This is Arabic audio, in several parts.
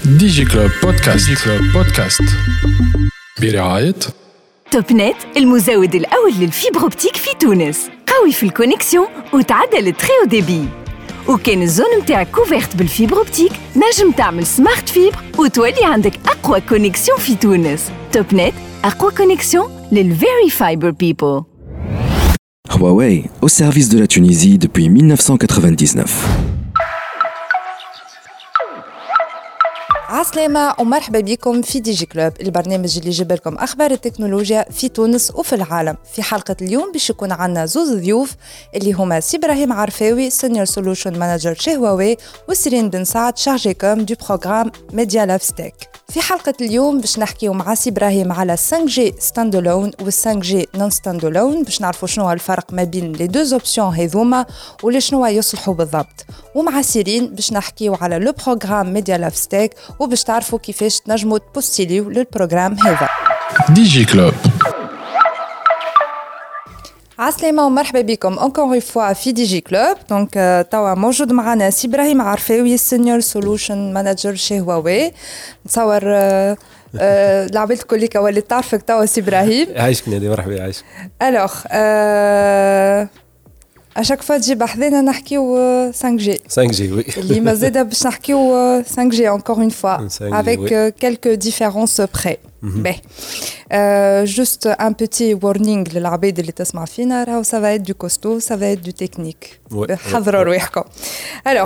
دي جي كلوب بودكاست. دي جي كلوب بودكاست برعاية توب نت، المزود الأول للفيبر أوبتيك في تونس. قوي في الكونيكسيون وتعدل التري ديبي. وكان الزون متاعك كوفيرت بالفيبر أوبتيك، نجم تعمل سمارت فيبر وتولي عندك أقوى كونيكسيون في تونس. توب نت، أقوى كونيكسيون للفيري فايبر بيبل. Huawei, au service de la Tunisie depuis 1999. عسلامة ومرحبا بكم في دي جي كلوب، البرنامج اللي يجيب لكم أخبار التكنولوجيا في تونس وفي العالم. في حلقة اليوم باش يكون عنا زوز ضيوف اللي هما سي إبراهيم عرفاوي سينيور سولوشن مانجر شي هواوي، وسيرين بن سعد شارجي كوم دو بروغرام ميديا لاف ستيك. في حلقة اليوم باش نحكيو مع سي إبراهيم على 5G ستاند الون و 5G نون ستاند الون، باش نعرفوا شنو هو الفرق ما بين لي دوز اوبسيون هذوما ولشنو يصلحوا بالضبط. ومع سيرين باش نحكيو على لو بروغرام ميديا لاف ستيك وباش تعرفوا كيفاش تنجموا تبوستيليو للبروغرام هذا. دي جي كلوب. عسلامة ومرحبا بكم encore une fois في دي جي كلوب. دونك توا موجود معنا سي إبراهيم عرفاوي سينيور سولوشن مانجر شي هواوي. نتصور العباد الكل اللي ولات تعرفك توا سي إبراهيم. عايشك نادي، مرحبا عايشك. الوغ اشاك فوا تجي بحذنا نحكيو 5G وي اللي مازال باش نحكيو 5G encore une fois avec quelques différences près. Ben, juste un petit warning للعباد اللي تسمع فينا، راهو ça va être du costaud, ça va être du technique. حضروا رواحكم. Alors,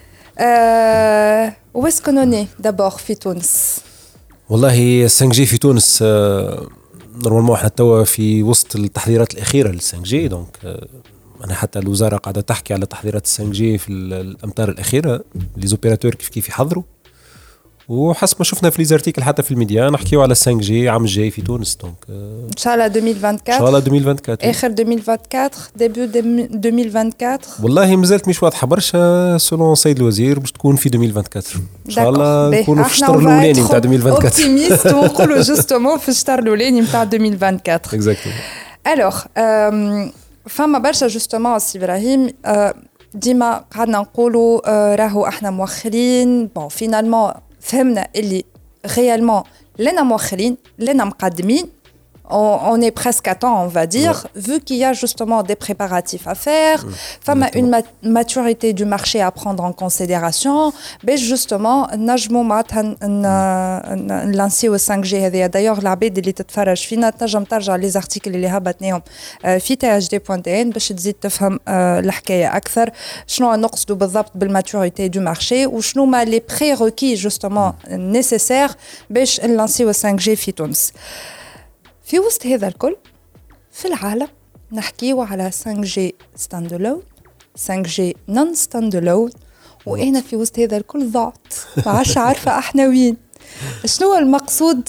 où est-ce qu'on en est d'abord في تونس؟ والله 5G في تونس نورمالمون احنا توا في وسط التحضيرات الأخيرة لل 5G. دونك أنا حتى الوزارة قاعدة تحكي على تحضيرات 5G في الأمطار الأخيرة، لي زوبيراتور كيف يحضروا، وحسب ما شفنا في ليزارتيكل حتى في الميديا نحكيو على 5G عام الجاي في تونس. دونك ان شاء الله 2024 ان شاء الله 2024 اخر 2024 ديبيو 2024. والله مازالت مش واضحه برشا سولون سيد الوزير باش تكون في 2024 ان شاء الله. نكونوا في الشهر الاولاني نتاع 2024 اوبتيميست ونقولوا جوستومون في الشهر الاولاني نتاع 2024 اكزاكتلي. الوغ فما برشا جوستومون سي إبراهيم ديما قعدنا نقولوا راهو احنا موخرين. بون فينالمون فهمنا اللي réellement لنا موخرين لنا مقدمين. On est presque à temps, on va dire, vu qu'il y a justement des préparatifs à faire, une maturité du marché à prendre en considération, mais justement, نجمو معناتها نلانسيو 5G هذه. d'ailleurs العباد اللي تتفرج فينا تنجم ترجع لي زارتيكل اللي هبطناهم في THD.n باش تزيد تفهم الحكايه اكثر، شنو نقصدوا بالضبط بالماتوريتي دو مارشي وشنو ما لي بريروكي جوستومون نيسيسير باش نلانسيو 5G في تونس. في وسط هذا الكل في العالم نحكيو على 5G stand alone 5G non stand alone، وأنا في وسط هذا الكل ضعت ما عادش عارفة احنا وين. شنو المقصود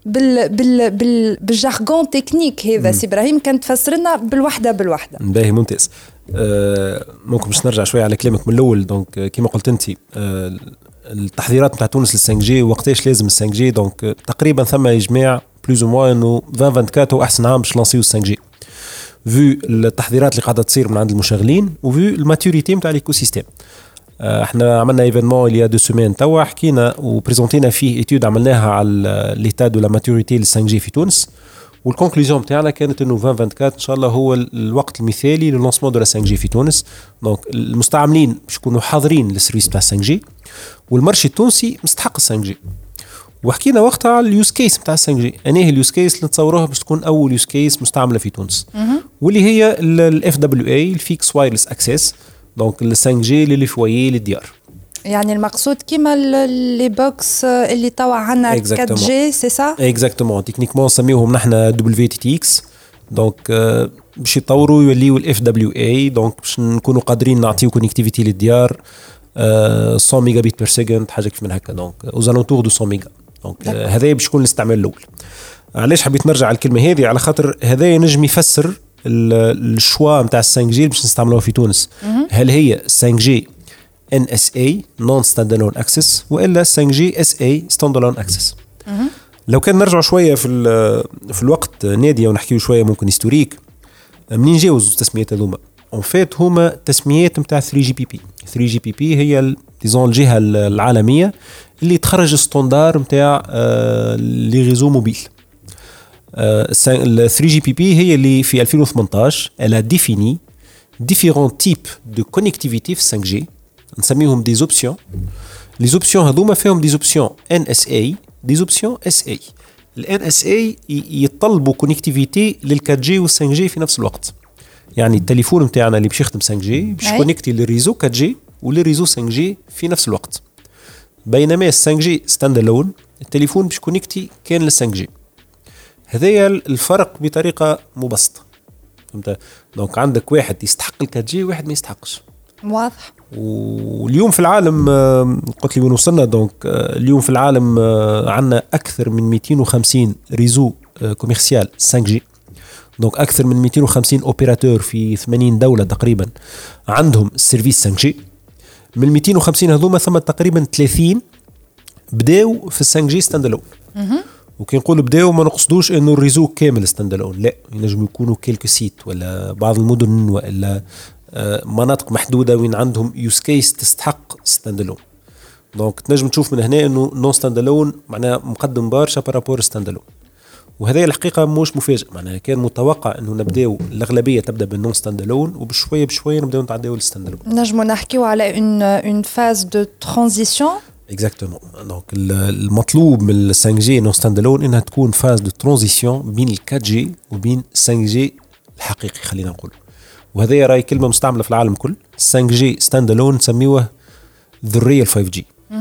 بالجارغون تكنيك هذا سي إبراهيم؟ كان تفسرنا بالوحدة. باهي ممتاز. ممكن باش نرجع شوية على كلامك من الأول. دونك كما قلت أنت التحضيرات نتاع تونس لل 5G وقتاش لازم ال 5G. دونك تقريبا ثم إجماع بلوز او موان انه 2024 هو احسن عام باش لانسيو 5G فيو التحضيرات اللي قاعده تصير من عند المشغلين وفيو الماتوريتي نتاع الايكو سيستيم. احنا عملنا ايفينمون اللي 2 سيمين توا حكينا وبريزونتينا فيه ايتود عملناها على ليتا دو لا ماتوريتي لل 5G في تونس، والكونكلوزيون نتاعنا كانت انه 2024 ان شاء الله هو الوقت المثالي للانسمون دو لا 5G في تونس. دونك المستعملين باش يكونوا حاضرين للسيرفيس تاع 5G والمارشي التونسي مستحق 5G. وحكينا وقتها على اليوز كيس نتاع 5G. انهي اليوز كيس اللي نتصوروها باش تكون اول يوز كيس مستعمله في تونس، واللي هي الاف دبليو اي الفيكس وايرلس اكسس. دونك ال 5G اللي فويي للديار، يعني المقصود كيما لي بوكس اللي توا عندنا 4G سي سا اكزاكتومون. تكنيكمون نسميوهم نحن WTTX. دونك باش يطوروا يوليوا الاف دبليو اي. دونك باش نكونوا قادرين نعطيو كونيكتيفيتي للديار 100 ميجا بيت بير سكند حاجه كيف من هكا. دونك اوزالونتور دو 100 ميجا. دونك هذا باش يكون الاستعمال الاول. علاش حبيت نرجع على الكلمه هذه؟ على خاطر هذا ينجم يفسر الشوا نتاع 5G باش نستعملوها في تونس. هل هي 5G NSA non standalone access والا 5G SA standalone access؟ لو كان نرجع شويه في الوقت ناديه ونحكيو شويه ممكن هيستوريك منين جاوز التسميات هذوما. اون فيت هما تسميات نتاع 3GPP. 3GPP هي ديزون الجهه العالميه اللي تخرج ستاندار نتاع لي ريزو موبيل. ال 3GPP هي اللي في 2018 elle a défini différents types de connectivité في 5G نسميهم des options. les options هذوما فيهم des options NSA des options SA. ال NSA يطلبوا كونيكتيفيتي لل 4G وال 5G في نفس الوقت. يعني التليفون نتاعنا اللي باش يخدم 5G باش كونيكتي للريزو 4G وللريزو 5G في نفس الوقت. بينما ال 5G ستاند الون التليفون باش كونيكتي كان لل 5G. هذايا الفرق بطريقه مبسطه. فهمت؟ دونك عندك واحد يستحق ال 4G وواحد ما يستحقش. واضح. واليوم في العالم قلت لي وين وصلنا. دونك اليوم في العالم عندنا اكثر من 250 ريزو كوميرسيال 5G. دونك اكثر من 250 اوبيراتور في 80 دوله تقريبا عندهم سيرفيس 5G. من 250 هذوما ثم تقريبا 30 بداوا في 5G ستاند الون. وكي نقول بداوا ما نقصدوش انه الريزو كامل ستاند الون، لا، ينجم يكونوا كيلكو سيت ولا بعض المدن ولا مناطق محدوده وين عندهم يوز كيس تستحق ستاند الون. دونك تنجم تشوف من هنا انه نون ستاند الون معناها مقدم برشا بارابور ستاند الون. وهذا الحقيقه مش مفاجئ، معناها كان متوقع انه نبداو الاغلبيه تبدا بالنون ستاند الون وبشويه بشويه نبداو نتعداو للستاند الون. نجمو نحكيو على اون فاز دو ترانزيسيون. اكزاكتومون. دونك المطلوب من ال 5G نون ستاند الون انها تكون فاز دو ترانزيسيون بين ال 4G وبين 5G الحقيقي خلينا نقول. وهذه راي كلمه مستعمله في العالم كل. 5G ستاند الون نسميوه ذا ريال 5G.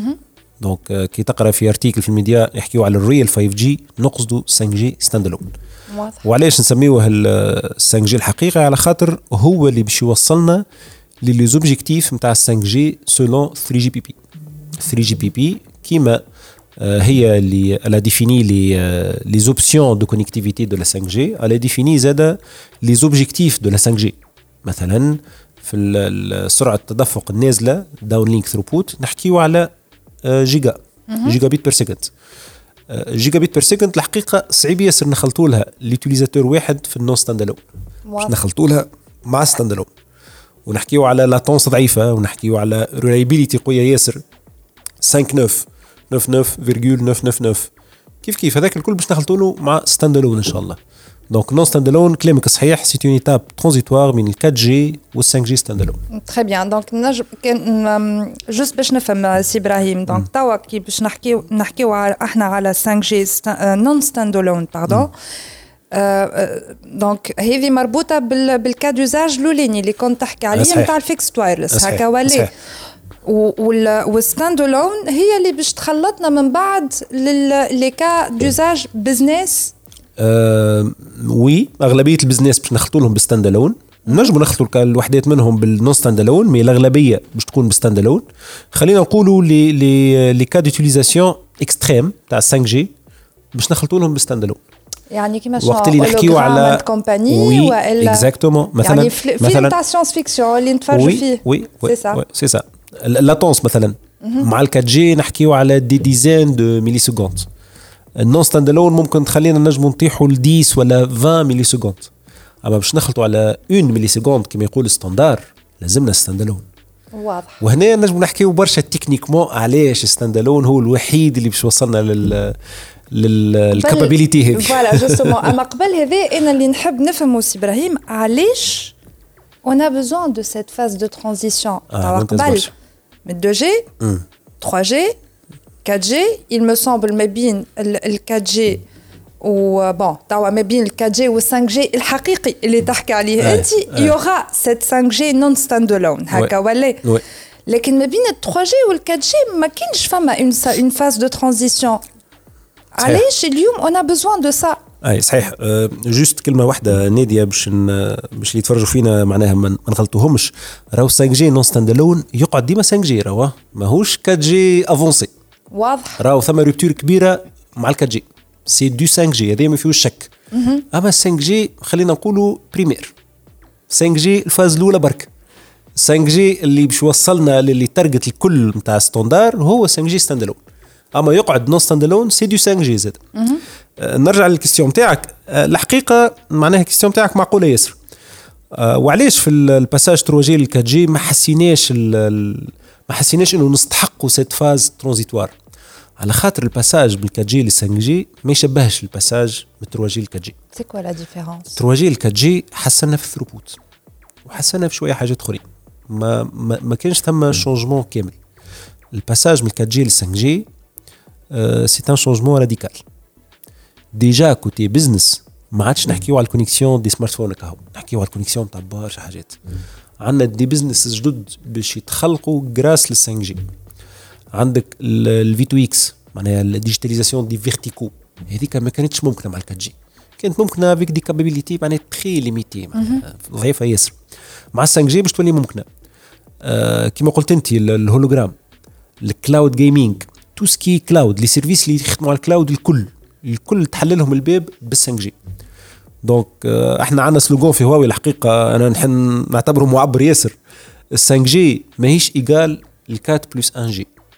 دونك كي تقرا في ارتيكل في الميديا يحكيوا على الريال 5G نقصدوا 5G ستاند الون. وعلاش نسميوه ال 5G الحقيقي؟ على خاطر هو اللي باش يوصلنا للي زوبجيكتيف نتاع 5G سولون 3GPP. 3GPP كيما هي اللي elle a défini les options de connectivité de la 5G, elle a défini زاد les objectifs de la 5G. مثلا في سرعة التدفق النازلة downlink throughput نحكيو على جيجا بيت بير سكند. جيجا بيت بير سكند الحقيقة صعيب ياسر نخلطوا لها ليوتيليزاتور واحد في النون ستاند الون، نخلطوا لها مع ستاند الون ونحكيو على لاتونس ضعيفة ونحكيو على ريلايبيليتي قوية ياسر 99.999 كيف هذاك الكل باش نخلطوا له مع ستاند الون ان شاء الله. دونك نون ستاند الون كلامك صحيح، سي اون ايتاب ترانزيتوار بين ال 4G وال 5G ستاند الون. تري بيان. دونك نجم جوست باش نفهم سي ابراهيم. دونك توا كي باش نحكيو احنا على 5G نون ستاند الون باردون. دونك هذه مربوطه بالكا دوزاج الاولاني اللي كنت تحكي عليه نتاع الفيكس وايرلس هكا ولا والستاند الون هي اللي باش تخلطنا من بعد لي كا دوزاج بزنس. وي اغلبيه البزنس باش نخلطوا لهم بالستاند الون. نجموا نخلطوا الوحدات منهم بالنون ستاند الون، مي الاغلبيه باش تكون بالستاند الون. خلينا نقولوا لي كا ديوتيليزاسيون اكستريم تاع 5G باش نخلطوا لهم بالستاند الون. يعني كيما وقت اللي نحكيو على كومباني والا اكزاكتومون مثلا يعني فيلم تاع ساينس فيكسيون اللي نتفرجوا فيه. وي سي سا اللاتونس مثلا مع ال 4G نحكيو على دي ديزين دو ميلي سكوند. النون ستاند الون ممكن تخلينا نجموا نطيحوا ل 10 ولا 20 ميلي سكوند، اما باش نخلطوا على 1 ميلي سكوند كما يقول الستاندار لازمنا ستاند الون. واضح. وهنا نجموا نحكيو برشا تكنيكمون علاش ستاند الون هو الوحيد اللي باش وصلنا للكابابيليتي هذه. فوالا جوستومون. اما قبل هذا انا اللي نحب نفهمه سي ابراهيم علاش on a besoin de cette phase de transition. قبل من 2G 3G 4G il me semble ما بين ال 4G و بون توا ما بين ال 4G وال 5G الحقيقي اللي تحكي عليه انت يوغا cette 5G non standalone هكا ولا. لكن ما بين ال 3G وال 4G ما كاينش فما une phase de transition. علاش اليوم on a besoin de ça؟ اي صحيح. جوست كلمه واحده ناديه باش اللي يتفرجوا فينا معناها ما نغلطوهمش. راهو 5G نون ستاند الون يقعد ديما 5G، راهو ماهوش 4G افونسي. واضح. راهو ثم روبتور كبيره مع ال 4G سي دو 5G هذا ما فيهوش شك. اما 5G خلينا نقولوا بريمير 5G الفاز الاولى برك. 5G اللي باش وصلنا للي تارجت الكل نتاع ستاندار هو 5G ستاند الون. اما يقعد نون ستاند الون سي دو 5G زاد. نرجع للكيستيون تاعك. الحقيقه معناها الكيستيون تاعك معقوله ياسر. وعلاش في الباساج 3G لل 4G ما حسيناش ما حسيناش انه نستحقوا سيت فاز ترانزيتوار، على خاطر الباساج من 4G ل 5G ما يشبهش الباساج من 3G ل 4G. سي كوا لا ديفيرونس؟ 3G ل 4G حسنا في الثروبوت وحسنا في شويه حاجات اخرين، ما كانش ثم شونجمون كامل. الباساج من 4G ل 5G سي ان شونجمون راديكال. ديجا كوتي بزنس ما عادش نحكيو على الكونيكسيون دي سمارت فون كهو، نحكيو على الكونيكسيون تاع برشا حاجات. عندنا دي بزنس جدد باش يتخلقوا جراس لل 5G. عندك الفي تو اكس معناها الديجيتاليزاسيون دي فيرتيكو، هذيك ما كانتش ممكنه مع 4G، كانت ممكنه افيك دي كابابيليتي معناها تري ليميتي ضعيفه ياسر. مع 5G باش تولي ممكنه. كما قلت انت الهولوجرام، الكلاود جيمنج، تو سكي كلاود، لي سيرفيس اللي يخدموا على الكلاود الكل تحللهم الباب بال5G. دونك احنا عندنا سلوغون في هواوي الحقيقه انا نحن نعتبره معبر ياسر، ال5G ماهيش ايجال ل4 بلس 1G،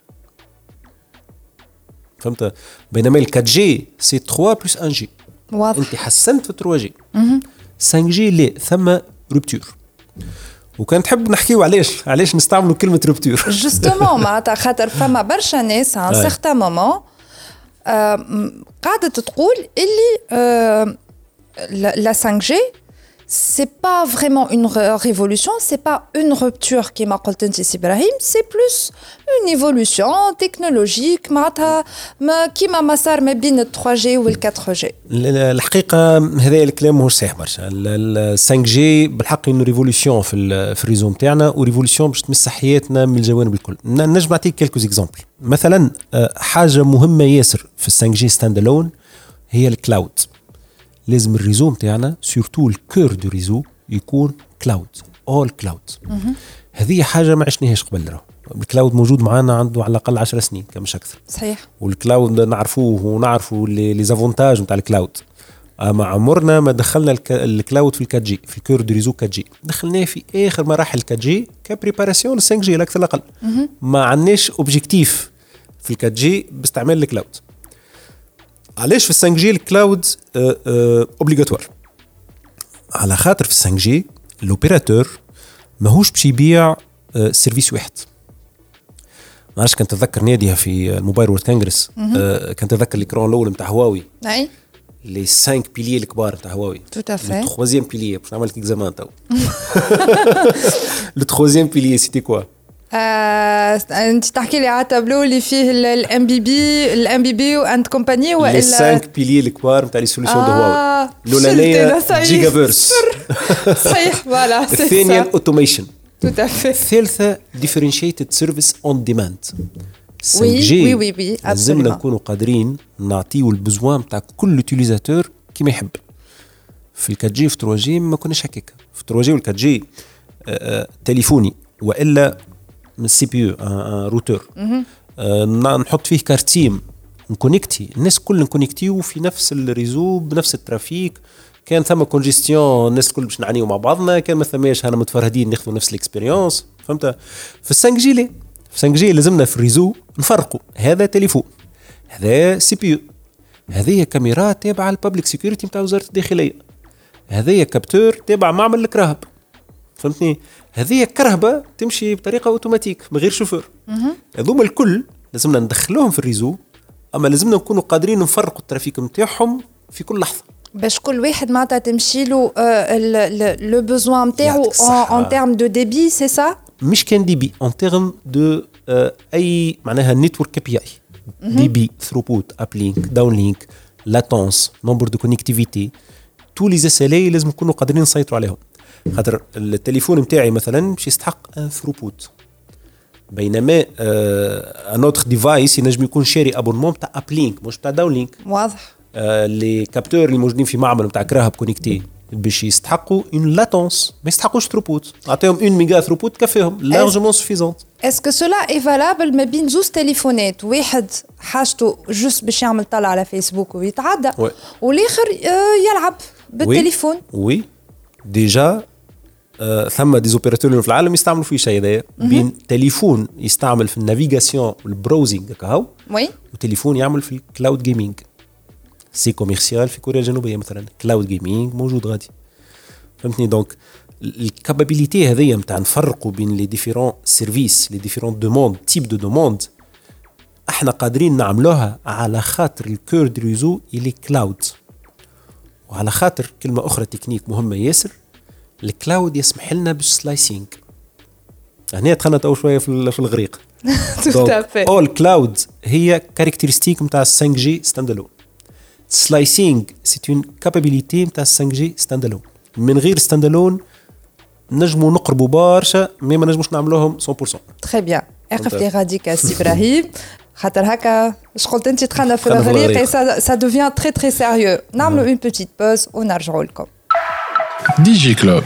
فهمت؟ بينما ال4G سي 3 بلس 1G. واضح. انت حسنت في 3G. 5G لا ثم روبتور. وكان تحب نحكيو علاش نستعملوا كلمه روبتور. جوستومون معناتها خاطر فما برشا ناس عن سيغتان مومون قاعده تقول اللي la 5G c'est pas vraiment une révolution, c'est pas une rupture كما قلت انت سي ابراهيم, c'est plus une évolution technologique معناتها كيما ما صار ما بين ال 3G وال 4G. الحقيقه هذا الكلام مش صحيح برشا. ال 5G بالحق انه ريفولوشن في الريزو نتاعنا وريفولوشن باش تمس حياتنا من الجوانب الكل. نجم نعطيك كلكو اكزامبل. مثلا حاجه مهمه ياسر في ال 5G ستاند الون هي الكلاود. لازم الريزو نتاعنا سورتو الكور دو ريزو يكون كلاود، اول كلاود. هذه حاجه ما عشناهاش قبل. الكلاود موجود معنا عنده على الاقل 10 سنين كمش اكثر. صحيح. والكلاود نعرفوه ونعرفوا لي زافونتاج نتاع الكلاود. اما عمرنا ما دخلنا الكلاود في ال 4G في الكور دو ريزو 4G، دخلناه في اخر مراحل 4G كبريباراسيون ل 5G الاكثر الاقل. ما عندناش اوبجيكتيف في ال 4G باستعمال الكلاود. علاش في 5G الكلاود اوبليغاتوار؟ على خاطر في 5G الاوبيراتور ماهوش باش يبيع سيرفيس واحد. ما عرفش كنت تذكر ناديها في الموبايل وورد كونغرس، كنت تذكر الاكران الاول نتاع هواوي، اي لي 5 بيليي الكبار نتاع هواوي. تو افي. لو ترويزيام بيليي باش نعمل لك اكزامان تو. لو ترويزيام بيليي سيتي كوا؟ انت تحكي لي على التابلو اللي فيه الام بي بي واند كومباني ولا لي 5 بيليي الكبار نتاع لي سوليسيون دو هواوي. الاولانيه جيجا فيرس، صحيح فوالا. الثانيه الاوتوميشن، تو افي. الثالثه ديفرنشيتد سيرفيس اون ديماند. وي وي وي لازمنا نكونوا قادرين نعطيو البزوان نتاع كل يوتيليزاتور كيما يحب. في ال 4G في 3G ما كناش هكاك. في 3G وال 4G تليفوني والا من سي بي يو روتور، نحط فيه كارتيم نكونيكتي الناس كل نكونيكتيو في نفس الريزو بنفس الترافيك. كان ثم كونجستيون الناس الكل باش نعانيو مع بعضنا، كان ما ثماش انا متفرهدين ناخذوا نفس الاكسبيريونس. فهمت؟ في 5G ليه؟ في 5G لازمنا في الريزو نفرقوا هذا تليفون، هذا سي بي يو، هذه كاميرا تابعه الببليك سيكوريتي نتاع وزاره الداخليه، هذه كابتور تابع معمل الكراهب. فهمتني؟ هذه كرهبه تمشي بطريقه اوتوماتيك من غير شوفور. هذوما الكل لازمنا ندخلوهم في الريزو، اما لازمنا نكونوا قادرين نفرقوا الترافيك نتاعهم في كل لحظه باش كل واحد معناتها تمشي له لو بوزوان نتاعو ان تيرم دو ديبي. سي سا مش كان دي بي ان تيرم دو اي معناها نيتورك كي بي اي. دي بي ثروبوت اب لينك داون لينك لاتونس نمبر دو كونيكتيفيتي تو لي زاسالي لازم نكونوا قادرين نسيطروا عليهم. خاطر التليفون نتاعي مثلا باش يستحق ان ثروبوت، بينما ان اوتر ديفايس ينجم يكون شاري ابونمون تاع اب لينك مش تاع داون لينك. واضح. لي كابتور اللي موجودين في معمل نتاع كراهب كونيكتي باش يستحقوا اون لاتونس، ما يستحقوش ثروبوت. نعطيهم 1 ميجا ثروبوت كفاهم لارجمون سوفيزونت. اسكو سولا اي فالابل ما بين زوز تليفونات، واحد حاجته جوست باش يعمل طلع على فيسبوك ويتعدى، والاخر يلعب بالتليفون؟ وي ديجا ثم دي زوبيراتور في العالم يستعملوا فيه شيء هذايا، بين تليفون يستعمل في النافيغاسيون والبراوزينغ كهو، وي، وتليفون يعمل في الكلاود جيمنج. سي كوميرسيال في كوريا الجنوبيه مثلا كلاود جيمنج موجود غادي. فهمتني؟ دونك الكابابيليتي هذيا نتاع نفرقوا بين لي ديفيرون سيرفيس لي ديفيرون دوموند تيب دو دوموند احنا قادرين نعملوها على خاطر الكور دو ريزو اللي كلاود. وعلى خاطر كلمه اخرى تكنيك مهمه ياسر، الكلاود يسمح لنا بالسلايسينج. هنا دخلنا تو شويه في الغريق. اول كلاود هي كاركتيرستيك نتاع 5 جي ستاند الون. سلايسينج سي اون كابابيليتي نتاع 5 جي ستاند الون. من غير ستاند الون نجموا نقربوا برشا ما نجموش نعملوهم 100%. تري بيان. اقف لي غاديك سي ابراهيم، خاطر هكا اش قلت انت دخلنا في الغريق سا دوفيان تري تري سيريو. نعملوا اون بيتيت بوز ونرجعوا لكم. دي جي كلوب.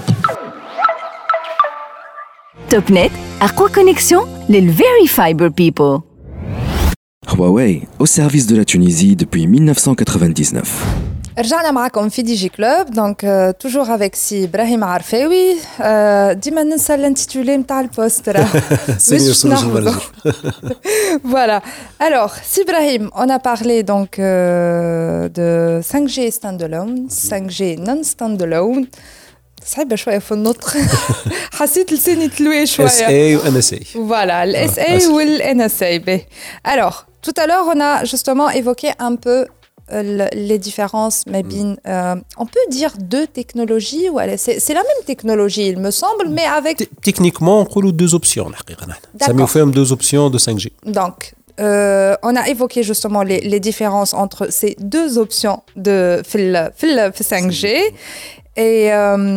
توب نت أقوى كونيكسيون للفيري فايبر بيبل. Huawei, au service de la Tunisie depuis 1999. رجعنا معكم في دي جي كلوب. دونك توجور افيك سي ابراهيم عرفاوي. ديما ننسى الانتيتولي نتاع البوست راه سينيور سولوشن مانجر. Voilà. Alors, si Ibrahim, on a parlé donc de 5G standalone, 5G non standalone. صعيبة شوية في النطق. حسيت لساني تلوي شوية. SA و NSA. Voilà, le SA ou le NSA. Alors, tout à l'heure, on a justement évoqué un peu les différences, mais on peut dire deux technologies. C'est la même technologie, il me semble, mais avec... Techniquement, on parle de deux options. Ça me fait deux options de 5G. Donc, on a évoqué justement les différences entre ces deux options de 5G. Et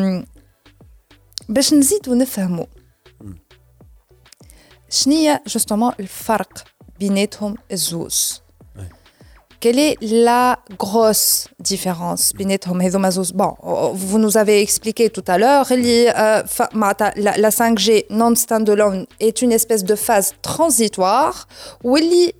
باش نزيدو نفهمو شنية justement الفرق بيناتهم الزوز. Quelle est la grosse différence بيناتهم هذوما زوز؟ Bon, vous nous avez expliqué tout à l'heure la 5G non standalone est une espèce de phase transitoire واللي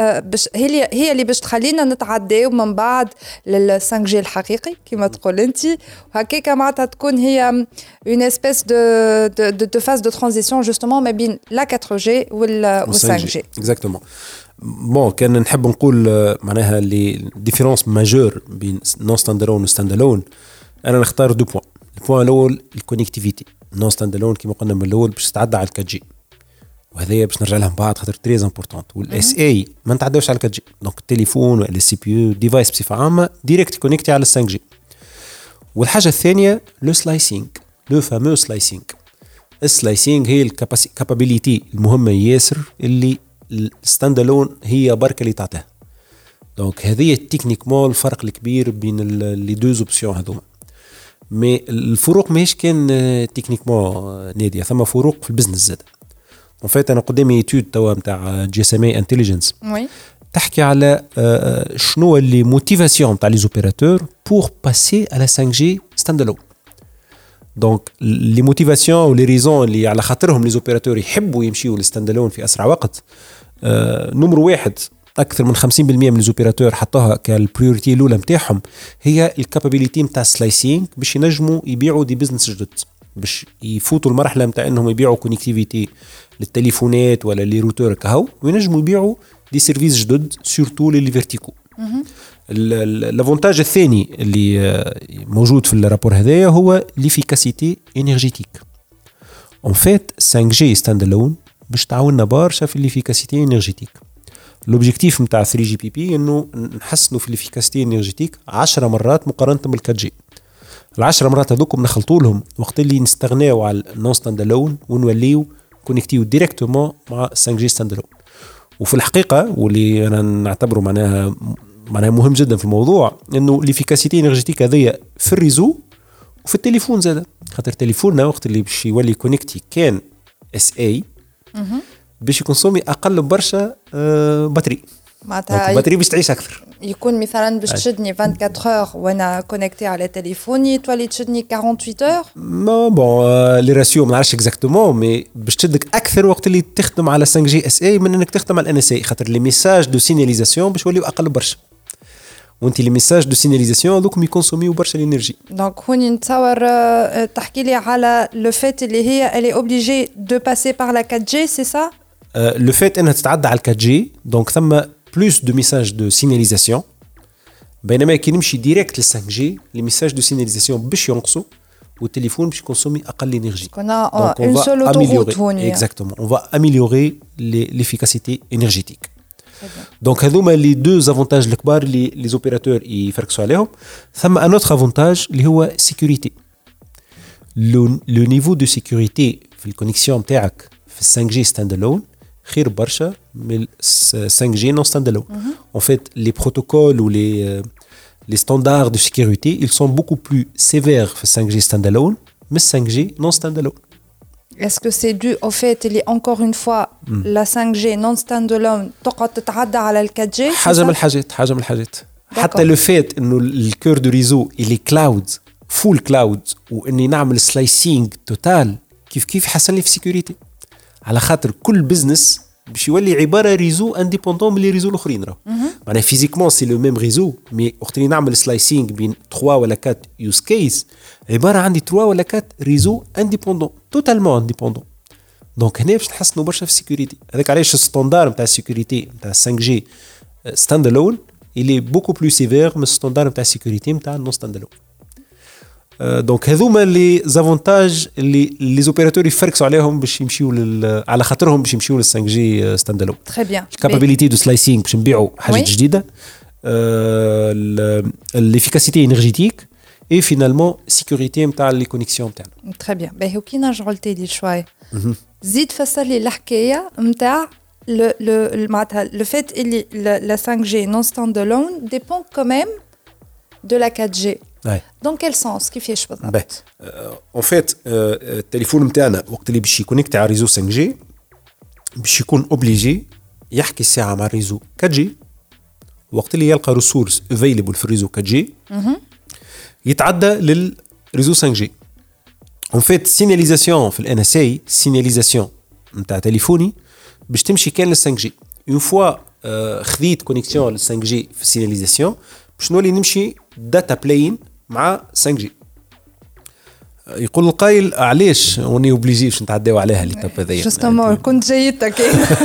هي اللي باش تخلينا نتعداو من بعد لل 5G الحقيقي كما تقول انت، وهكاكا معناتها تكون هي une espèce de phase de transition justement ما بين la 4G وال 5G. Exactement. بون كان نحب نقول معناها لي ديفيرونس ماجور بين نون ستاندالون و ستاندالون، انا نختار دو بوين. البوين الاول الكونيكتيفيتي. نون ستاندالون كما قلنا من الاول باش تتعدى على 4G، وهذايا باش نرجع لها من بعد خاطر تري امبورطونت. والاس اي ما نتعداوش على 4G، دونك التليفون ولا السي بي يو ديفايس بصفه عامه ديريكت كونيكتي على 5G. والحاجه الثانيه لو سلايسينغ، لو فامو سلايسينغ. السلايسينغ هي الكابابيليتي المهمه ياسر اللي الستاندالون هي بركة اللي تعطيها. دونك هذه تكنيكمون الفرق الكبير بين لي دوز اوبسيون هذوما. مي الفروق ماهيش كان تكنيكمون نادية، ثم فروق في البزنس زاد. ان فيت انا قدامي ايتود توا نتاع جي اس ام اي انتليجنس تحكي على شنو اللي موتيفاسيون تاع لي زوبيراتور بور باسي على 5G ستاندالون. دونك لي موتيفاسيون و لي ريزون اللي على خاطرهم لي زوبيراتور يحبوا يمشيوا للستاندالون في اسرع وقت، نمر واحد اكثر من 50% من الزوبيراتور حطوها كالبريوريتي الاولى نتاعهم هي الكابابيليتي نتاع السلايسينغ باش ينجموا يبيعوا دي بزنس جدد، باش يفوتوا المرحله نتاع انهم يبيعوا كونيكتيفيتي للتليفونات ولا لي روتور كهو، وينجموا يبيعوا دي سيرفيس جدد سورتو لي فيرتيكو. الافونتاج الثاني اللي موجود في الرابور هذايا هو ليفيكاسيتي انرجيتيك. اون فيت 5G ستاندالون باش تعاوننا برشا في الليفيكاسيتي انرجيتيك. لوبجيكتيف نتاع 3 GPP انه نحسنوا في الليفيكاسيتي انرجيتيك 10 مرات مقارنه بال4G. ال10 مرات هذوكم نخلطوا لهم وقت اللي نستغناو على النون ستاندالون ونوليو كونيكتيو ديريكتومون مع 5G ستاندالون. وفي الحقيقه واللي انا نعتبره معناها مهم جدا في الموضوع انه ليفيكاسيتي انرجيتيك هذيا في الريزو وفي التليفون زاد، خاطر تليفوننا وقت اللي باش يولي كونيكتي كان اس اي باش يكونسومي اقل برشا بطاري، معناتها البطاريه باش تعيش اكثر. يكون مثلا باش تشدني 24 اور وانا كونيكتي على تليفوني تولي تشدني 48 اور. ما بون لي راسيو ما نعرفش اكزاكتومون، مي باش تشدك اكثر وقت اللي تخدم على 5G اس اي من انك تخدم على ان اس اي، خاطر لي ميساج دو سيناليزاسيون باش يوليو اقل برشا، وانت لي ميساج دو سيناليزاسيون دوك يكونسوميو برشا الانرجي. دونك هوني نتصور تحكي لي على لو فيت اللي هي الي اوبليجي دو باسي بار لا 4G سي سا. لو فيت انها تتعدى على 4G دونك ثم plus de messages de signalisation، بينما كي نمشي ديريكت لل 5G les messages de signalisation باش ينقصوا والتليفون باش يكونسومي اقل انرجي. كنا اون سول اوتوروت هوني. اكزاكتومون اون فا اميليوري ليفيكاسيتي انرجيتيك. دونك هذوما لي دو زافونتاج الكبار اللي لي زوبيراتور يفركسوا عليهم. ثم ان اوتر افونتاج اللي هو سيكوريتي. لو نيفو دو سيكوريتي في الكونيكسيون نتاعك في 5G ستاند الون خير برشا من 5G non standalone. En fait, les protocoles ou les standards de sécurité, ils sont beaucoup plus sévères في 5G standalone, mais 5G non standalone. Est-ce que c'est dû au fait qu'il y a encore une fois la 5G non standalone تقعد تتعدى على ال 4G؟ حاجة من الحاجات. حتى لو فات إنه الكور دو ريزو اللي كلاود فول كلاود وإني نعمل سلايسينج توتال كيف حسن لي في سيكوريتي. على خاطر كل بزنس باش يولي عباره ريزو انديبوندون من لي ريزو الاخرين راه معناها فيزيكمون سي لو ميم ريزو مي وقت اللي نعمل سلايسينغ بين 3 ولا 4 يوز كيس عباره عندي 3 ولا 4 ريزو انديبوندون توتالمون انديبوندون. دونك هنا باش نحسنوا برشا في السيكوريتي. هذاك علاش الستاندار نتاع السيكوريتي نتاع 5G ستاند الون اللي بوكو بلو سيفير من الستاندار نتاع السيكوريتي نتاع نون ستاند الون. دونك هذوما لي زافونتاج اللي لي زوبيراتور يفركسوا عليهم باش يمشيو على خاطرهم باش يمشيو لل 5G ستاند الون. تري بيان. الكابابيليتي دو سلايسينغ باش نبيعوا حاجه جديده. l'efficacité énergétique et finalement sécurité نتاع لي كونيكسيون نتاعنا. تري بيان. باهي وكي نرجعوا لتالي شوي زيد فسر لي الحكايه نتاع معناتها لو فيت اللي la 5G non standalone dépend quand même de la 4G. Ouais. Dans quel sens كيفاش بالضبط؟ En fait التليفون نتاعنا وقت اللي باش يكونيكت على ريزو 5G باش يكون اوبليجي يحكي الساعه مع الريزو 4G. وقت اللي يلقى ريسورس افيلبل في الريزو 4G يتعدى للريزو 5G. En fait سيناليزاسيون في الان اس اي سيناليزاسيون نتاع تليفوني باش تمشي كان لل 5G. اون فوا خذيت كونيكسيون لل 5G في السيناليزاسيون باش نولي نمشي داتا بلاين مع 5G. يقول القائل علاش وني اوبليجي باش نتعداو عليها لي تاب هذيا. جوستومون كنت جايتك.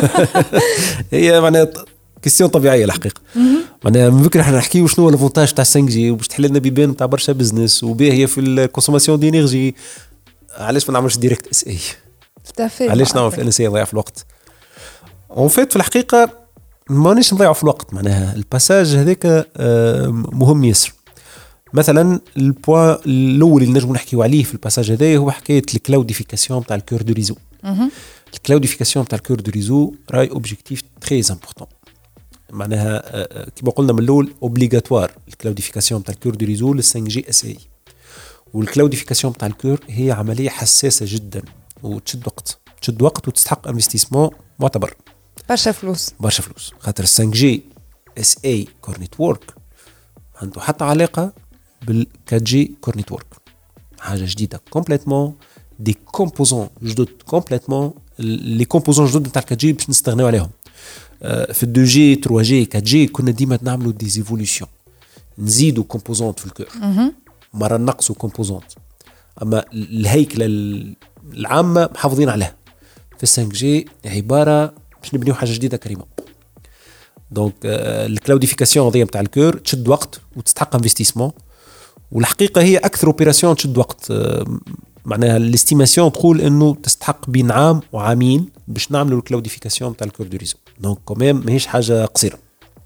هي معناها كيستيون طبيعيه الحقيقه. معناها من بكره احنا نحكيو شنو هو الافونتاج تاع 5G وباش تحل لنا بيبان تاع برشا بزنس وباهيه في الكونسوماسيون دي انرجي. علاش ما نعملش ديريكت اس اي؟ علاش نعمل في ان اس اي نضيع في الوقت؟ اون فيت في الحقيقه مانيش نضيعوا في الوقت. معناها الباساج هذاك مهم ياسر. مثلا البوان الاول اللي نجم نحكيو عليه في الباساج هذا هو حكايه الكلاوديفيكاسيون تاع الكور دو ريزو. الكلاوديفيكاسيون تاع الكور دو ريزو راي اوبجيكتيف تري امبورطون. معناها كما قلنا من الاول اوبليغاتوار الكلاوديفيكاسيون تاع الكور دو ريزو لل 5G اس اي. والكلاوديفيكاسيون تاع الكور هي عمليه حساسه جدا وتشد وقت وتستحق انفستيسمون معتبر. برشا فلوس خاطر 5G اس اي كور نتورك عنده حتى علاقه بال 4G كور نتورك. حاجه جديده كومبليتمون دي كومبوزون جدد كومبليتمون. لي كومبوزون جدد نتاع 4G باش نستغناو عليهم. في 2G 3G 4G كنا ديما نعملوا دي ايفولوشن نزيدوا كومبوزونت في الكور مره نقصوا كومبوزونت. اما الهيكله العامه محافظين عليها. في 5G عباره باش نبنيو حاجه جديده كريمه. دونك الكلاوديفيكاسيون هذه نتاع الكور تشد وقت وتستحق انفستيسمون. والحقيقه هي اكثر اوبيراسيون تشد وقت. معناها الاستيماسيون تقول انه تستحق بين عام وعامين باش نعملوا الكلاوديفيكاسيون نتاع الكور دو ريزو. دونك كوميم ماهيش حاجه قصيره.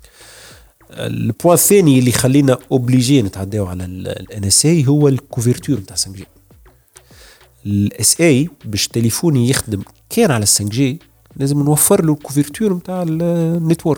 البوان الثاني اللي خلينا اوبليجي نتعداو على الان اس اي هو الكوفرتور نتاع 5G. الاس اي باش تليفوني يخدم كان على 5G لازم نوفر له الكوفرتور نتاع النتورك.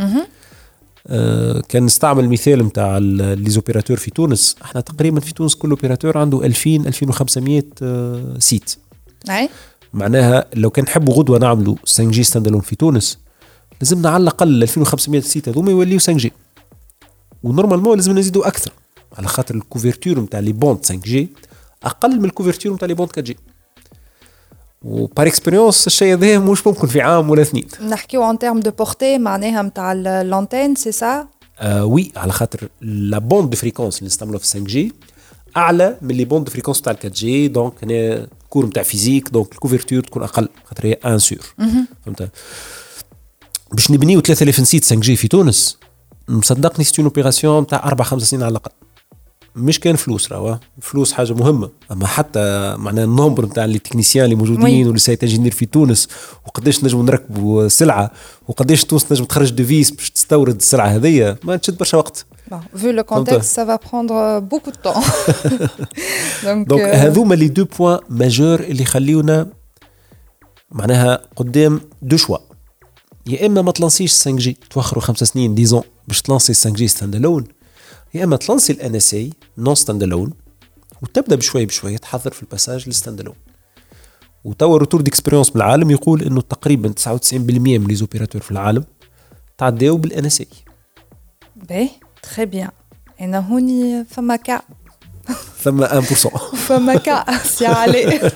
كان نستعمل مثال نتاع لي زوبيراتور في تونس. احنا تقريبا في تونس كل اوبيراتور عنده 2500 سيت. معناها لو كان نحبوا غدوه نعملوا 5G ستاند الون في تونس لازمنا على الاقل 2500 سيت هذوما يوليو 5G. ونورمالمون لازم نزيدوا اكثر على خاطر الكوفرتور نتاع لي بوند 5G اقل من الكوفرتور نتاع لي بوند 4G. وبار اكسبيريونس الشيء هذا مش ممكن في عام ولا اثنين. نحكيو ان تيرم دو بورتي معناها نتاع لانتين سي سا. وي على خاطر لا بوند دو فريكونس اللي نستعملوها في 5G اعلى من لي بوند دو فريكونس تاع 4G. دونك هنا كور نتاع فيزيك دونك الكوفرتور تكون اقل خاطر هي ان سور. فهمت؟ باش نبنيو 3000 سيت 5G في تونس مصدقني سيت اون اوبيراسيون تاع 4-5 سنين على الاقل. مش كان فلوس راهو فلوس حاجه مهمه اما حتى معناها النمبر نتاع لي تكنيسيان اللي موجودين واللي سايت انجينير في تونس وقداش نجموا نركبوا سلعه وقداش تونس نجم تخرج ديفيس باش تستورد السلعه هذيا ما تشد برشا وقت. Vu le contexte, ça va prendre beaucoup de temps. Donc هذوما لي دو بوين ماجور اللي يخليونا معناها قدام دو شوا. يا اما ما تلانسيش 5 جي توخروا 5 سنين ديزون باش تلانسي 5 جي ستاند الون، يا اما تلانسي الان اس اي نون ستاند الون وتبدا بشوي بشوي تحضر في الباساج للستاند الون. وتوا روتور ديكسبيريونس بالعالم يقول انه تقريبا 99% من لي زوبيراتور في العالم تعداو بالان اس اي. باهي تري بيان. انا هوني فما كا ثم 1% فما كا سي علي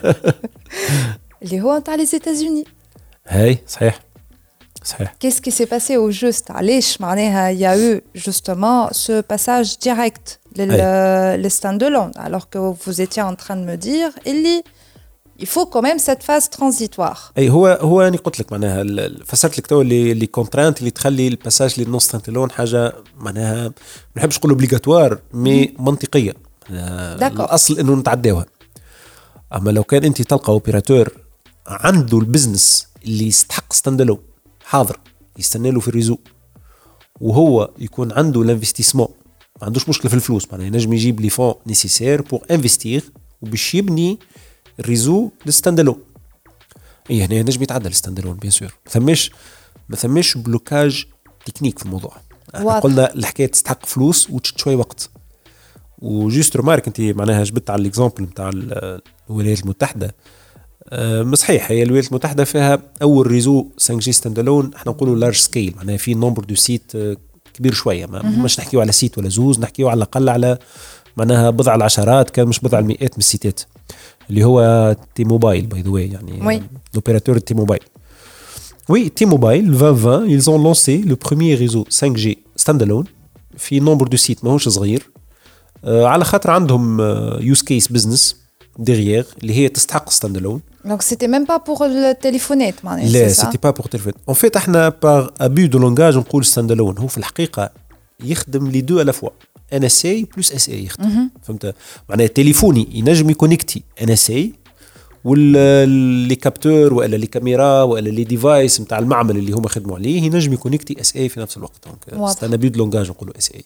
اللي هو نتاع لي زيتازوني. هاي صحيح صحيح. Qu'est-ce qui s'est passé au juste علاش معناها il y a eu justement ce passage direct le stand-alone alors que vous étiez en train de me dire il faut quand même cette phase transitoire. اي هو انا قلت لك معناها فسرت لك تو اللي كونترانت اللي تخلي الباساج للنون ستاند-alone حاجه معناها ما نحبش نقول اوبليغاتوار مي منطقيه. الاصل انه نتعداوها. اما لو كان انت تلقى اوبيراتور عنده البزنس اللي يستحق ستاند-alone حاضر يستنى له في الريزو وهو يكون عنده الانفستيسمون ما عندوش مشكله في الفلوس معناها ينجم يجيب لي فون نيسيسير بور انفستير وباش يبني الريزو للستاند-alone. اي هنا ينجم يتعدى الستاند-alone بيان سور. ما ثماش بلوكاج تكنيك في الموضوع. قلنا الحكايه تستحق فلوس وتشد شوي وقت. وجوست رمارك انت معناها جبت على الاكزامبل نتاع الولايات المتحده. صحيح هي الولايات المتحده فيها اول ريزو 5 جي ستاند-alone احنا نقولوا لارج سكيل معناها في نمبر دو سيت كبير شويه مش نحكيو على سيت ولا زوز نحكيو على الاقل على معناها بضع العشرات كان مش بضع المئات من السيتات اللي هو تي موبايل باي ذا واي يعني لوبيراتور تي موبايل. وي تي موبايل 2020 ils ont lancé le premier réseau 5G ستاند-alone في نمبر دو سيت ماهوش صغير على خاطر عندهم يوز كيس بزنس derrière اللي هي تستحق ستاند-alone. Donc c'était même pas pour le téléphonette معناها. لا c'était pas pour téléphone. En fait احنا par abus de langage نقول ستاند-alone هو في الحقيقة يخدم لي دو à la fois NSA plus SA يخدم. فهمت معناها تليفوني ينجم يكونيكتي NSA واللي كابتور ولا لي كاميرا ولا لي ديفايس نتاع المعمل اللي هما خدموا عليه ينجم يكونيكتي SA في نفس الوقت. دونك c'est un abus de langage نقولوا SA.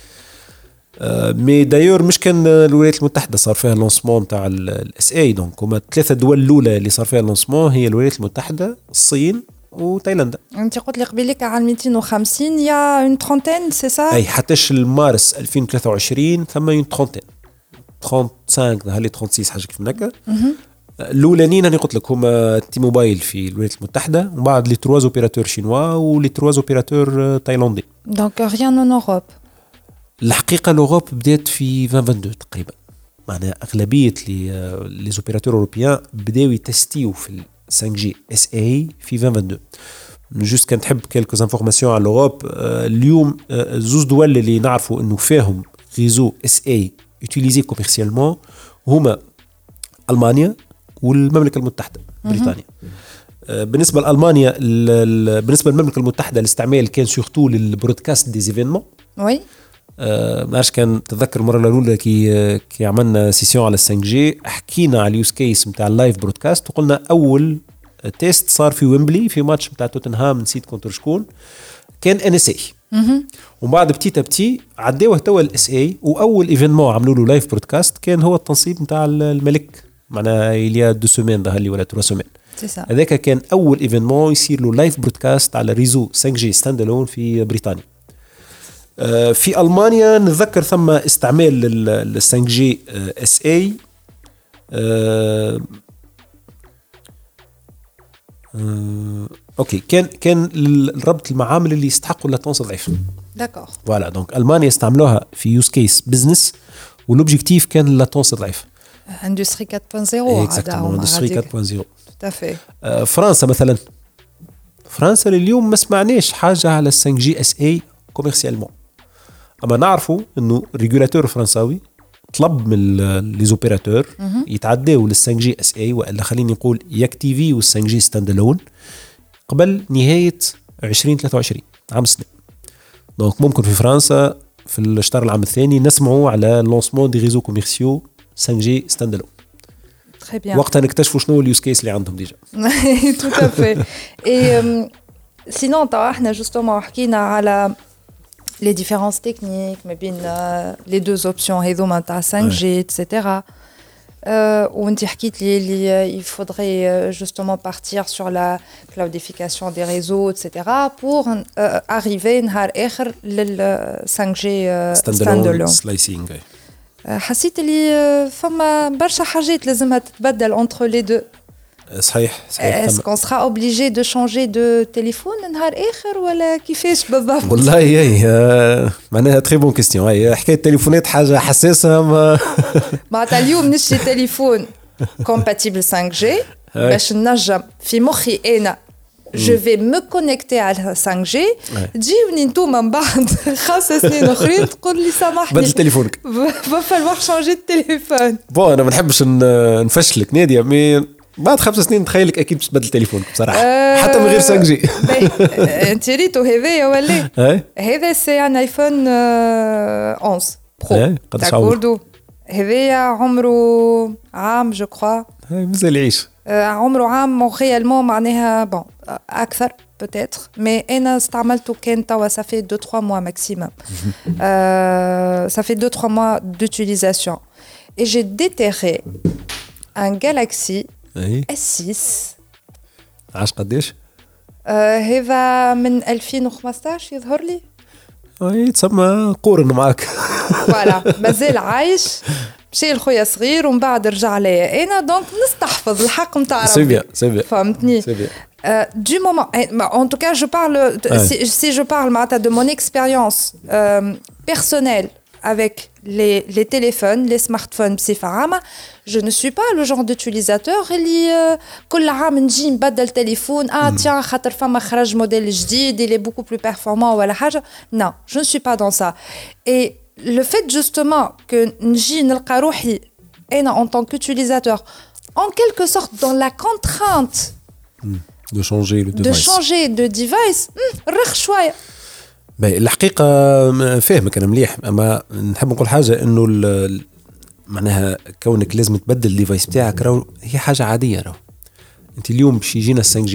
مي دايور مش كان الولايات المتحده صار فيها لونسمون تاع الاس اي. دونك هما الثلاثه دول الاولى اللي صار فيها لونسمون هي الولايات المتحده الصين وتايلاندا. انت قلت لي قبيلك على 250 يا اون ترونتين سي سا. اي حتىش المارس 2023 ثم اون ترونتين 35 هالي 36 حاجه كيف هكا. الاولانيين انا قلت لك هما تي موبايل في الولايات المتحده ومن بعد لي 3 اوبيراتور شينوا ولي 3 اوبيراتور تايلاندي. دونك ريان اون اوروب. الحقيقة الأوروب بدأت في 2022 تقريبا معناها أغلبية لي زوبيراتور أوروبيان بدأوا يتستيو في 5G SA في 2022. جوست كان تحب كيلكو انفورماسيون على الأوروب. اليوم زوز دول اللي نعرفوا إنه فيهم ريزو SA يوتيليزي كوميرسيالمون هما ألمانيا والمملكة المتحدة بريطانيا. بالنسبة لألمانيا بالنسبة للمملكة المتحدة الاستعمال كان سورتو للبرودكاست دي زيفينمون. وي ما عرفش كان تذكر المره الاولى كي عملنا سيسيون على 5G حكينا على اليوز كيس نتاع اللايف برودكاست وقلنا اول تيست صار في ويمبلي في ماتش نتاع توتنهام نسيت كونتر شكون كان ان اس اي. ومن بعد بتي عداوه توا الاس اي واول ايفينمون عملوا له لايف برودكاست كان هو التنصيب نتاع الملك معناها اليا 2 سيمين ظهر لي ولا 3 سيمين. هذاك كان اول ايفينمون يصير له لايف برودكاست على ريزو 5G ستاند-alone في بريطانيا. في ألمانيا نتذكر ثم استعمال ال 5G SA اوكي كان الربط المعامل اللي يستحقوا اللاتونس ضعيف. داكور فوالا دونك ألمانيا استعملوها في يوز كيس بزنس والأوبجيكتيف كان اللاتونس ضعيف. اندستري 4.0 اندستري 4.0 تافي. فرنسا مثلا فرنسا لليوم ما سمعناش حاجة على 5G SA كوميرسيالمون. اما نعرفوا انه الريغولاتور الفرنساوي طلب من لي زوبيراتور يتعداو لل 5G SA والا خليني نقول ياكتيفي وال 5G ستاند-alone قبل نهايه 2023 عام السنه. دونك ممكن في فرنسا في الشهر العام الثاني نسمعوا على لونسمون دي ريزو كوميرسيو 5G ستاند الون. تري بيان. وقتها نكتشفوا شنو اليوز كيس اللي عندهم ديجا. تو افي. اي سينون تاع احنا جوستومون حكينا على les différences techniques ما بين les deux options هذوما تاع 5G etc. وانت حكيت لي اللي il faudrait justement partir sur la cloudification des réseaux etc. pour arriver نهار اخر لل 5G standalone. سلايسينغ. حسيت اللي فما برشا حاجات لازمها تتبدل entre les deux. صحيح. Est-ce qu'on sera obligé de changer de téléphone نهار آخر ولا كيفاش بالضبط؟ والله هي معناها تري بون كيستيون. هي حكاية التليفونات حاجة حساسة. معناتها اليوم نشري تليفون compatible 5G باش ننجم في مخي أنا je vais me connecter على 5G. تجيوني نتوما من بعد 5 سنين أخرين تقول لي سامحني بدل تليفونك. va falloir changer de téléphone. بون أنا ما نحبش نفشلك نادية مي بعد 5 سنين تخيلك اكيد باش تبدل تليفونك بصراحه حتى من غير 5G. انت ريتو هذايا ولا هذا سي ان ايفون 11 برو تاع هذايا عمره عام جو كخوا مازال يعيش عمره عام ريالمون معناها بون اكثر peut-être mais انا استعملته كان توا ça fait 2-3 mois maximum. Ça fait 2-3 mois d'utilisation et j'ai déterré un Galaxy S6. عاش قديش؟ هذا من 2015 يظهر لي. تسمى قورن معاك. فوالا مازال عايش. مشي لخويا صغير ومن بعد رجع ليا انا دونك نستحفظ الحق نتاع ربي. سي بيان فهمتني. Du moment, en tout cas, je parle, si je parle de mon expérience personnelle avec les téléphones, les smartphones بصفة je ne suis pas le genre d'utilisateur اللي كل عام نجي نبدل تليفون tiens خاطر فما خرج موديل جديد il est beaucoup plus performant ولا حاجة. Non, je ne suis pas dans ça. Et le fait justement que نجي نلقى روحي أنا en tant qu'utilisateur en quelque sorte dans la contrainte de changer de device رخ شوية. الحقيقة فاهمك أنا مليح أما نحب نقول حاجة إنه معناها كونك لازم تبدل الديفايس بتاعك راهو هي حاجة عادية راهو. أنت اليوم باش يجينا 5G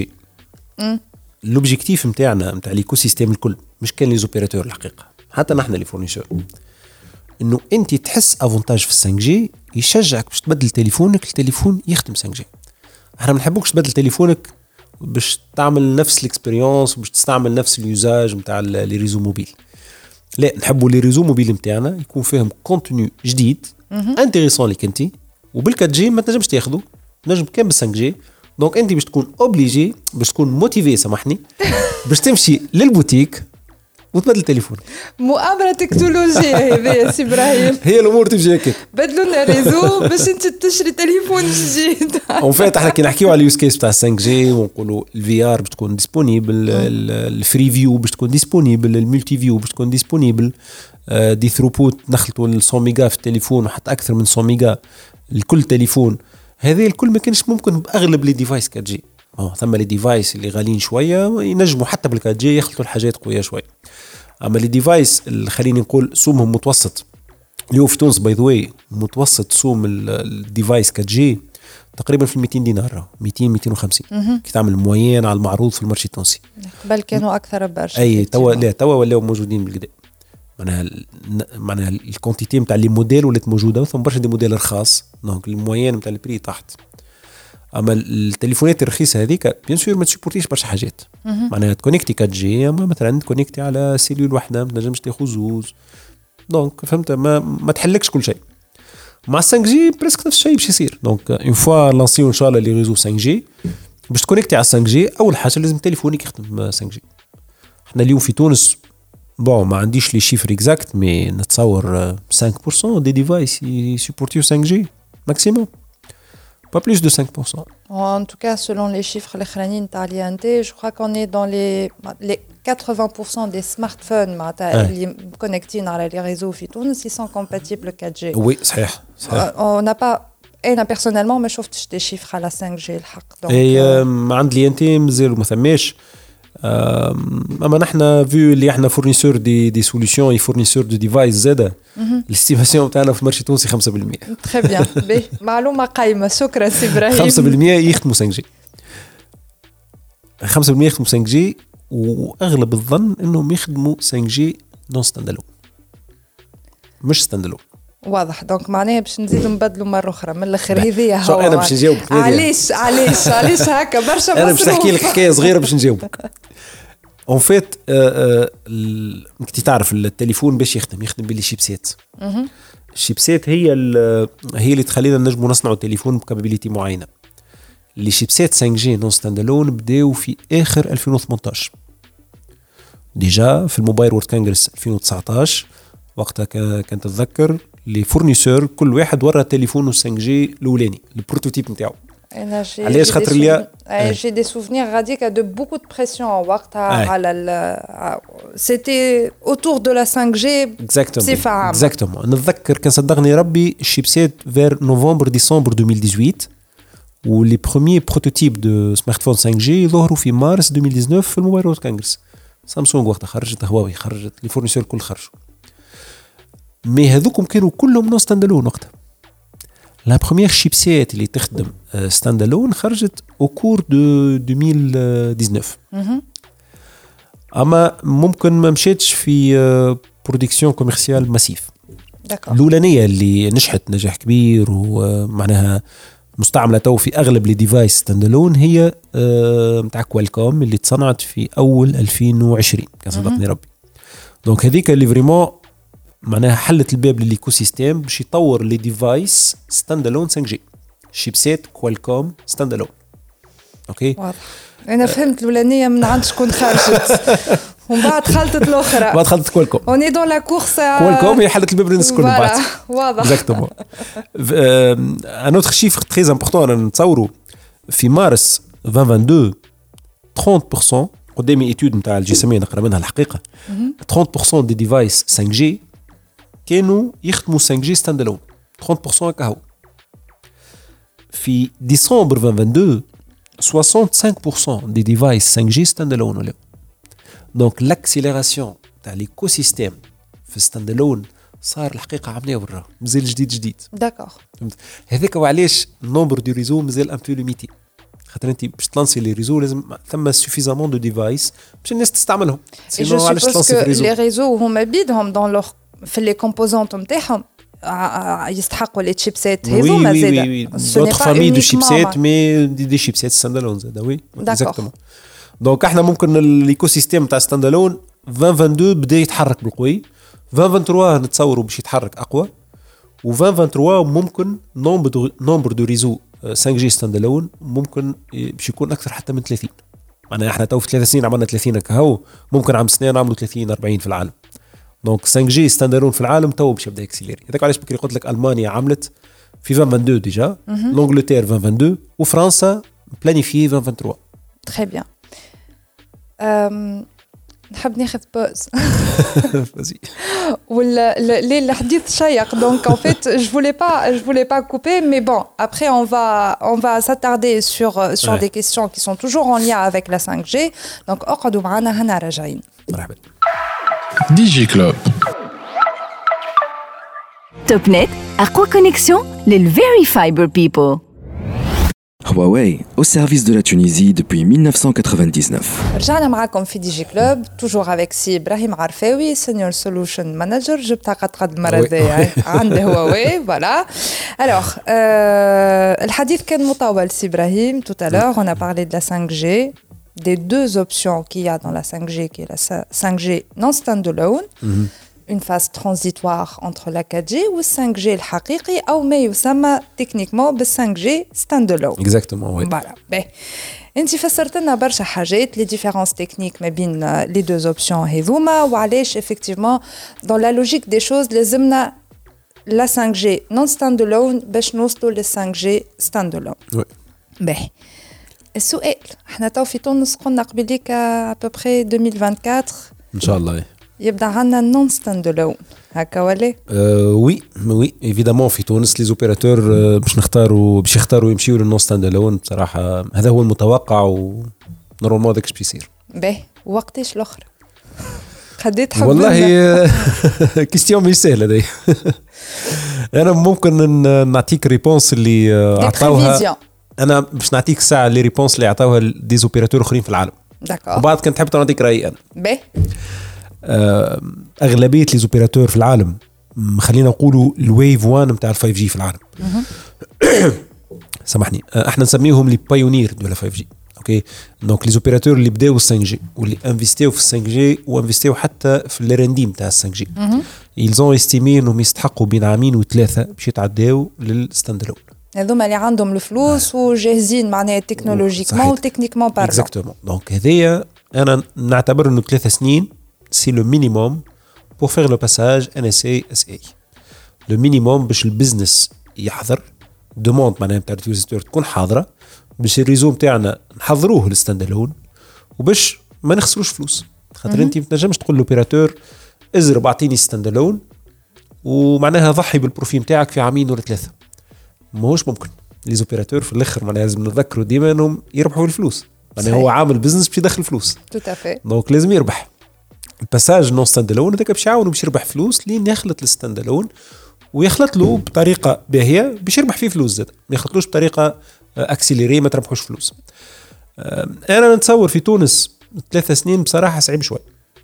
الأوبجيكتيف متاعنا متاع الإيكو سيستيم الكل مش كان لي زوبيراتور الحقيقة حتى نحن لي فورنيسور إنه أنت تحس أفونتاج في 5G يشجعك باش تبدل تليفونك التليفون يخدم 5G. احنا ما نحبوكش تبدل تليفونك باش تعمل نفس الاكسبيريونس باش تستعمل نفس اليوزاج نتاع لي ريزو موبيل. لا نحبوا لي ريزو موبيل نتاعنا يكون فيهم كونتوني جديد انتريسون ليك انت وبالكات جي ما تنجمش تاخذه نجم كان بال 5G. دونك انت باش تكون اوبليجي باش تكون موتيفي سامحني باش تمشي للبوتيك وتبدل تليفون. مؤامرة تكنولوجية هذه يا سي إبراهيم. هي الأمور تمشي هكاك. بدلوا لنا ريزو باش أنت تشري تليفون جديد. اون فيت احنا كي نحكيو على اليوز كيس تاع 5G ونقولوا الفي ار باش تكون ديسپونيبل الفري فيو باش تكون ديسپونيبل الملتي فيو باش تكون ديسپونيبل دي ثروبوت نخلطوا 100 ميجا في التليفون وحتى أكثر من 100 ميجا لكل تليفون. هذه الكل ما كانش ممكن بأغلب لي ديفايس 4G. ثم لي ديفايس اللي غاليين شوية ينجموا حتى بال 4G يخلطوا الحاجات قوية شوية. اما لي ديفايس اللي خليني نقول سومهم متوسط اليوم في تونس باي ذا واي متوسط سوم الديفايس 4G تقريبا في 200 دينار 200-250 كي تعمل موين على المعروض في المارشي التونسي. قبل كانوا اكثر برشا. اي توا ولاو موجودين بالكدا معناها الكونتيتي نتاع لي موديل ولات موجوده ثم برشا دي موديل رخاص دونك الموين نتاع البري تحت. اما التليفونات الرخيصه هذيك بيان سور ما تسيبورتيش برشا حاجات معناها تكونيكتي 4G اما مثلا تكونيكتي على سيلول واحده ما تنجمش تاخذ زوز دونك فهمت ما تحلكش كل شيء. مع 5G بريسك نفس الشيء باش يصير. دونك اون فوا لانسيو ان شاء الله لي ريزو 5G باش تكونيكتي على 5G اول حاجه لازم تليفونك يخدم 5G. احنا اليوم في تونس بون ما عنديش لي شيفر اكزاكت مي نتصور 5% دي ديفايس يسيبورتيو 5G ماكسيموم pas plus de 5%. En tout cas, selon les chiffres je crois qu'on est dans les 80% des smartphones connectés à les réseaux Tunis, ils sont compatibles 4G. Oui, صحيح. On n'a pas أنا personnellement ما شفتش des chiffres على 5G الحق. عند لي انت مازال ما ثماش اما نحن فيو اللي احنا فورنيسور دي سوليوشن اي فورنيسور دو ديفايس زاده الاستيماسيون تاعنا في المارشي التونسي 5%. تري بيان معلومه قايمه. شكرا سي ابراهيم. 5% يخدموا 5G 5% يخدموا 5G واغلب الظن انهم يخدموا 5G نون ستاندالون مش ستاندالون. واضح. دونك معناها باش نزيدوا نبدلوا مره اخرى من الاخر. هذه هو انا باش نجاوبك. علاش هكا برشا انا باش نحكي لك حكايه صغيره باش نجاوبك. اون فيت كنت تعرف التليفون باش يخدم باللي شيبسات. الشيبسات هي اللي تخلينا نجموا نصنعوا تليفون بكابابيليتي معينه. اللي شيبسات 5G نون ستاندالون بداوا في اخر 2018 ديجا في الموبايل وورد كونغرس 2019. وقتها كنت تتذكر لي فورنيسور كل واحد ورا تليفونه 5G الاولاني البروتوتيب نتاعو. علاش خاطر ليا j'ai des souvenirs غاديك de beaucoup de pression وقتها على c'était autour de la 5G بصفة عامة. exactement نتذكر كان صدقني ربي الشيبسات vers نوفمبر ديسمبر 2018 ولي بروميير بروتوتيب دو سمارتفون 5G ظهروا في مارس 2019 في الموبايل وورد كونغرس. سامسونج وقتها خرجت، هواوي خرجت، لي فورنيسور الكل خرجوا. مي هذوكم كانوا كلهم نون ستاندالون وقتها. لا بروميير شيبسات اللي تخدم ستاندالون خرجت او كور دو 2019. اما ممكن ما مشيتش في برودكسيون كوميرسيال ماسيف. الاولانيه اللي نجحت نجاح كبير ومعناها مستعمله تو في اغلب لي ديفايس ستاندالون هي نتاع كوالكوم اللي تصنعت في اول 2020 كان صدقني ربي. دونك هذيك اللي فريمون معناها حلت الباب للايكو سيستيم باش يطور لي ديفايس ستاندالون 5G شيبسات كوالكوم ستاندالون. اوكي واضح. انا فهمت الاولانيه من عند شكون خرجت ومن بعد خلطت الاخرى بعد خلطت كوالكوم. اوني دون لا كورس كوالكوم هي حلت الباب للناس الكل بعد. واضح اكزاكتومون. ان اوتر شيفر تري امبورطون انا نتصوروا في مارس 2022 30% قدامي ايتود نتاع الجسميه نقرا منها الحقيقه 30% دي ديفايس 5G كانوا يخدموا 5G ستاندالون 30% كهو. في ديسمبر 2022 65% دي ديفايس 5G ستاندالون ولا. دونك لاكسيليراسيون تاع ليكوسيستيم في ستاندالون صار الحقيقه عمليه برا مازال جديد. داكور. هذاك وعلاش النومبر دو ريزو مازال ان بو ليميتي خاطر انت باش تلانسي لي ريزو لازم ثم سوفيزامون دو ديفايس باش الناس تستعملهم. سينو علاش تلانسي في ريزو لي ريزو هما بيدهم دون لوغ في لي كومبوزونط نتاعهم يستحقوا لي تشيبسات هذوما زاده. نوتر فامي دو شيبسات مي دي شيبسات ستاندالون زاده. وي اكزاكتومون. دونك احنا ممكن الايكو سيستيم تاع ستاندالون 2022 بدا يتحرك بالقوي. 2023 نتصوروا باش يتحرك اقوى و 2023 ممكن نومبر دو ريزو 5G ستاندالون ممكن باش يكون اكثر حتى من 30. معناها احنا تو في 3 سنين عملنا 30 كهو ممكن عام سنين نعملوا 30 40 في العالم. دونك 5G ستاندالون في العالم تو باش يبدا يكسيليري. هذاك علاش بكري قلت لك المانيا عملت في 2022 ديجا، لانجلتير 2022 وفرنسا بلانيفي 2023. تري بيان. نحب ناخذ بوز. ولا الحديث شيق donc en fait je voulais pas couper mais bon après on va s'attarder sur des questions qui sont toujours en lien avec la 5G donc اقعدوا معنا هنا راجعين. مرحبا. ديجي كلوب توب نت أقوى كونيكسيون للفيري فايبر بيبل. Huawei, au service de la Tunisie depuis 1999. رجعنا معاكم في دي جي كلوب توجور avec سي إبراهيم عرفاوي سينيور سولوشن مانجر. جبتها قد المرة الجاية عنده هواوي فوالا. Alors الحديث كان مطول سي إبراهيم. Tout à l'heure on a parlé de la 5G, des deux options qu'il y a dans la 5G qui est la 5G non standalone, une phase transitoire entre la 4G ou 5G الحقيقي أو ما يسمى techniquement بال 5G standalone. Exactement, oui. Voilà. Ben, انت فسرت لنا برشا حاجات les différences techniques ما بين les deux options هذوما وعلاش effectivement dans la logique des choses لازمنا la 5G non standalone باش نوصلوا لل 5G standalone. Oui. Ben, السؤال احنا تو في تونس قلنا قبليك à peu près 2024 إن شاء الله. يبدا عندنا نون ستاند هكا ولا؟ وي ايفيدامون في تونس لي زوبيراتور باش يختاروا يمشيوا للنون ستاند الون. بصراحه هذا هو المتوقع ونورمالمون داكش باش يصير. باهي وقتاش الاخر خديت حب والله كيستيون مش سهله دي. انا ممكن نعطيك ريبونس اللي عطاوها. انا باش نعطيك ساعه اللي ريبونس اللي عطاوها دي زوبيراتور اخرين في العالم. داكور. وبعد كنت حبيت نعطيك رايي انا. باهي. اغلبيه لي زوبيراتور في العالم خلينا نقولوا الويف 1 نتاع ال 5 جي في العالم. سامحني احنا نسميهم لي بايونير دو لا 5 جي. اوكي دونك لي زوبيراتور اللي بداو 5 جي واللي انفستيو في 5 جي وانفستيو حتى في الرنديم تاع 5 جي. ils ont estimé انهم يستحقوا بين عامين وثلاثه باش يتعداو للستاند الون. هذوما اللي عندهم الفلوس وجاهزين معناها تكنولوجيكمون وتكنيكمون بارلون. اكزاكتومون دونك هذيا انا نعتبر انه 3 سنين سي لو مينيموم pour faire le passage NSA SA. le minimum باش البزنس يحضر دوموند معناها نتاع اليوزر تكون حاضره باش الريزو نتاعنا نحضروه للستاند الون وباش ما نخسروش فلوس. خاطر انت ما تنجمش تقول لوبيراتور ازرب اعطيني ستاند الون ومعناها ضحي بالبروفيل نتاعك في عامين ولا ثلاثه. ماهوش ممكن. لي زوبيراتور في الاخر معناها لازم نذكروا ديما انهم يربحوا الفلوس. معناها هو عامل بزنس باش يدخل فلوس. تو افي. دونك لازم يربح. الباساج نون ستاند الون هذاك باش يعاونوا باش يربح فلوس لين يخلط الستاند الون ويخلط له بطريقه باهيه باش يربح فيه فلوس زاد. ما يخلطلوش بطريقه اكسيليري ما تربحوش فلوس. انا نتصور في تونس 3 سنين بصراحه صعيب شوي.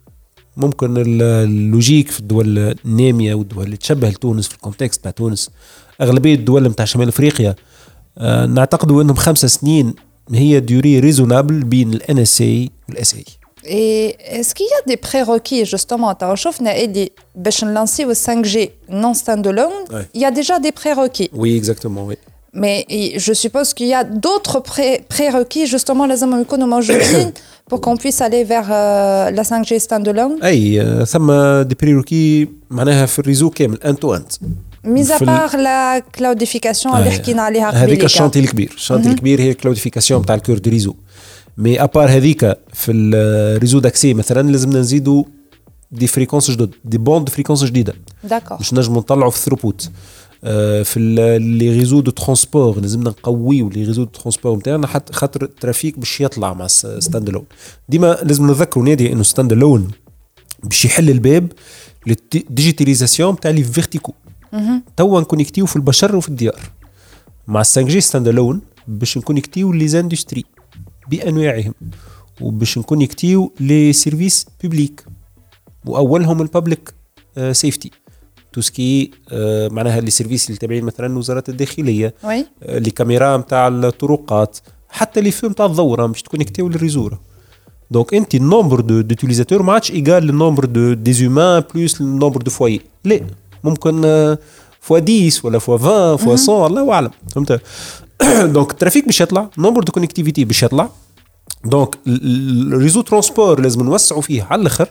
ممكن اللوجيك في الدول الناميه والدول اللي تشبه لتونس في الكونتكست تاع تونس اغلبيه الدول نتاع شمال افريقيا نعتقدوا انهم 5 سنين هي ديوري ريزونابل بين ال NSA وال SA. Et est-ce qu'il y a des prérequis justement t'as شفنا اللي باش نلانسيو ال 5G non standalone il y a déjà des prérequis. Oui exactement oui. Mais je suppose qu'il y a d'autres prérequis justement لازم يكونوا موجودين pour qu'on puisse aller vers la 5G standalone. اي ثم دي بريروكي معناها في الريزو كامل انتو انت. ميزا بار لا كلاوديفيكاسيون اللي حكينا عليها قبل. هذيك الشانتي الكبير. الشانتي الكبير هي الكلاوديفيكاسيون تاع الكور دو ريزو. مي ابار هذيك في الريزو داكسي مثلا لازمنا نزيدوا دي فريكونس جدد دي بوند فريكونس جديده. داكور. باش نجموا نطلعوا في الثروبوت. في لي ريزو دو ترونسبور لازمنا نقويو لي ريزو دو ترونسبور نتاعنا حتى خاطر الترافيك باش يطلع مع ستاند الون. ديما لازم نذكروا نادي انه ستاند الون باش يحل الباب للديجيتاليزاسيون تاع لي فيرتيكو. توا نكونيكتيو في البشر وفي الديار. مع 5 جي ستاند الون باش نكونيكتيو لي زاندستري بانواعهم وباش نكونيكتيو لي سيرفيس بوبليك واولهم البابليك سيفتي توسكي معناها لي سيرفيس اللي تابعين مثلا وزاره الداخليه لي كاميرا نتاع الطرقات حتى لي فيلم تاع الضوره باش تكونيكتيو للريزور. دونك انت النومبر دو يوتيليزاتور ما عادش ايغال للنومبر دو زومان بلس النومبر دو فوايي. لا ممكن فوا 10 ولا فوا 20 فوا 100 الله اعلم. فهمت. دونك الترافيك باش يطلع نومبر دو كونيكتيفيتي باش يطلع. دونك الريزو ترونسبور لازم نوسعوا فيه على الاخر.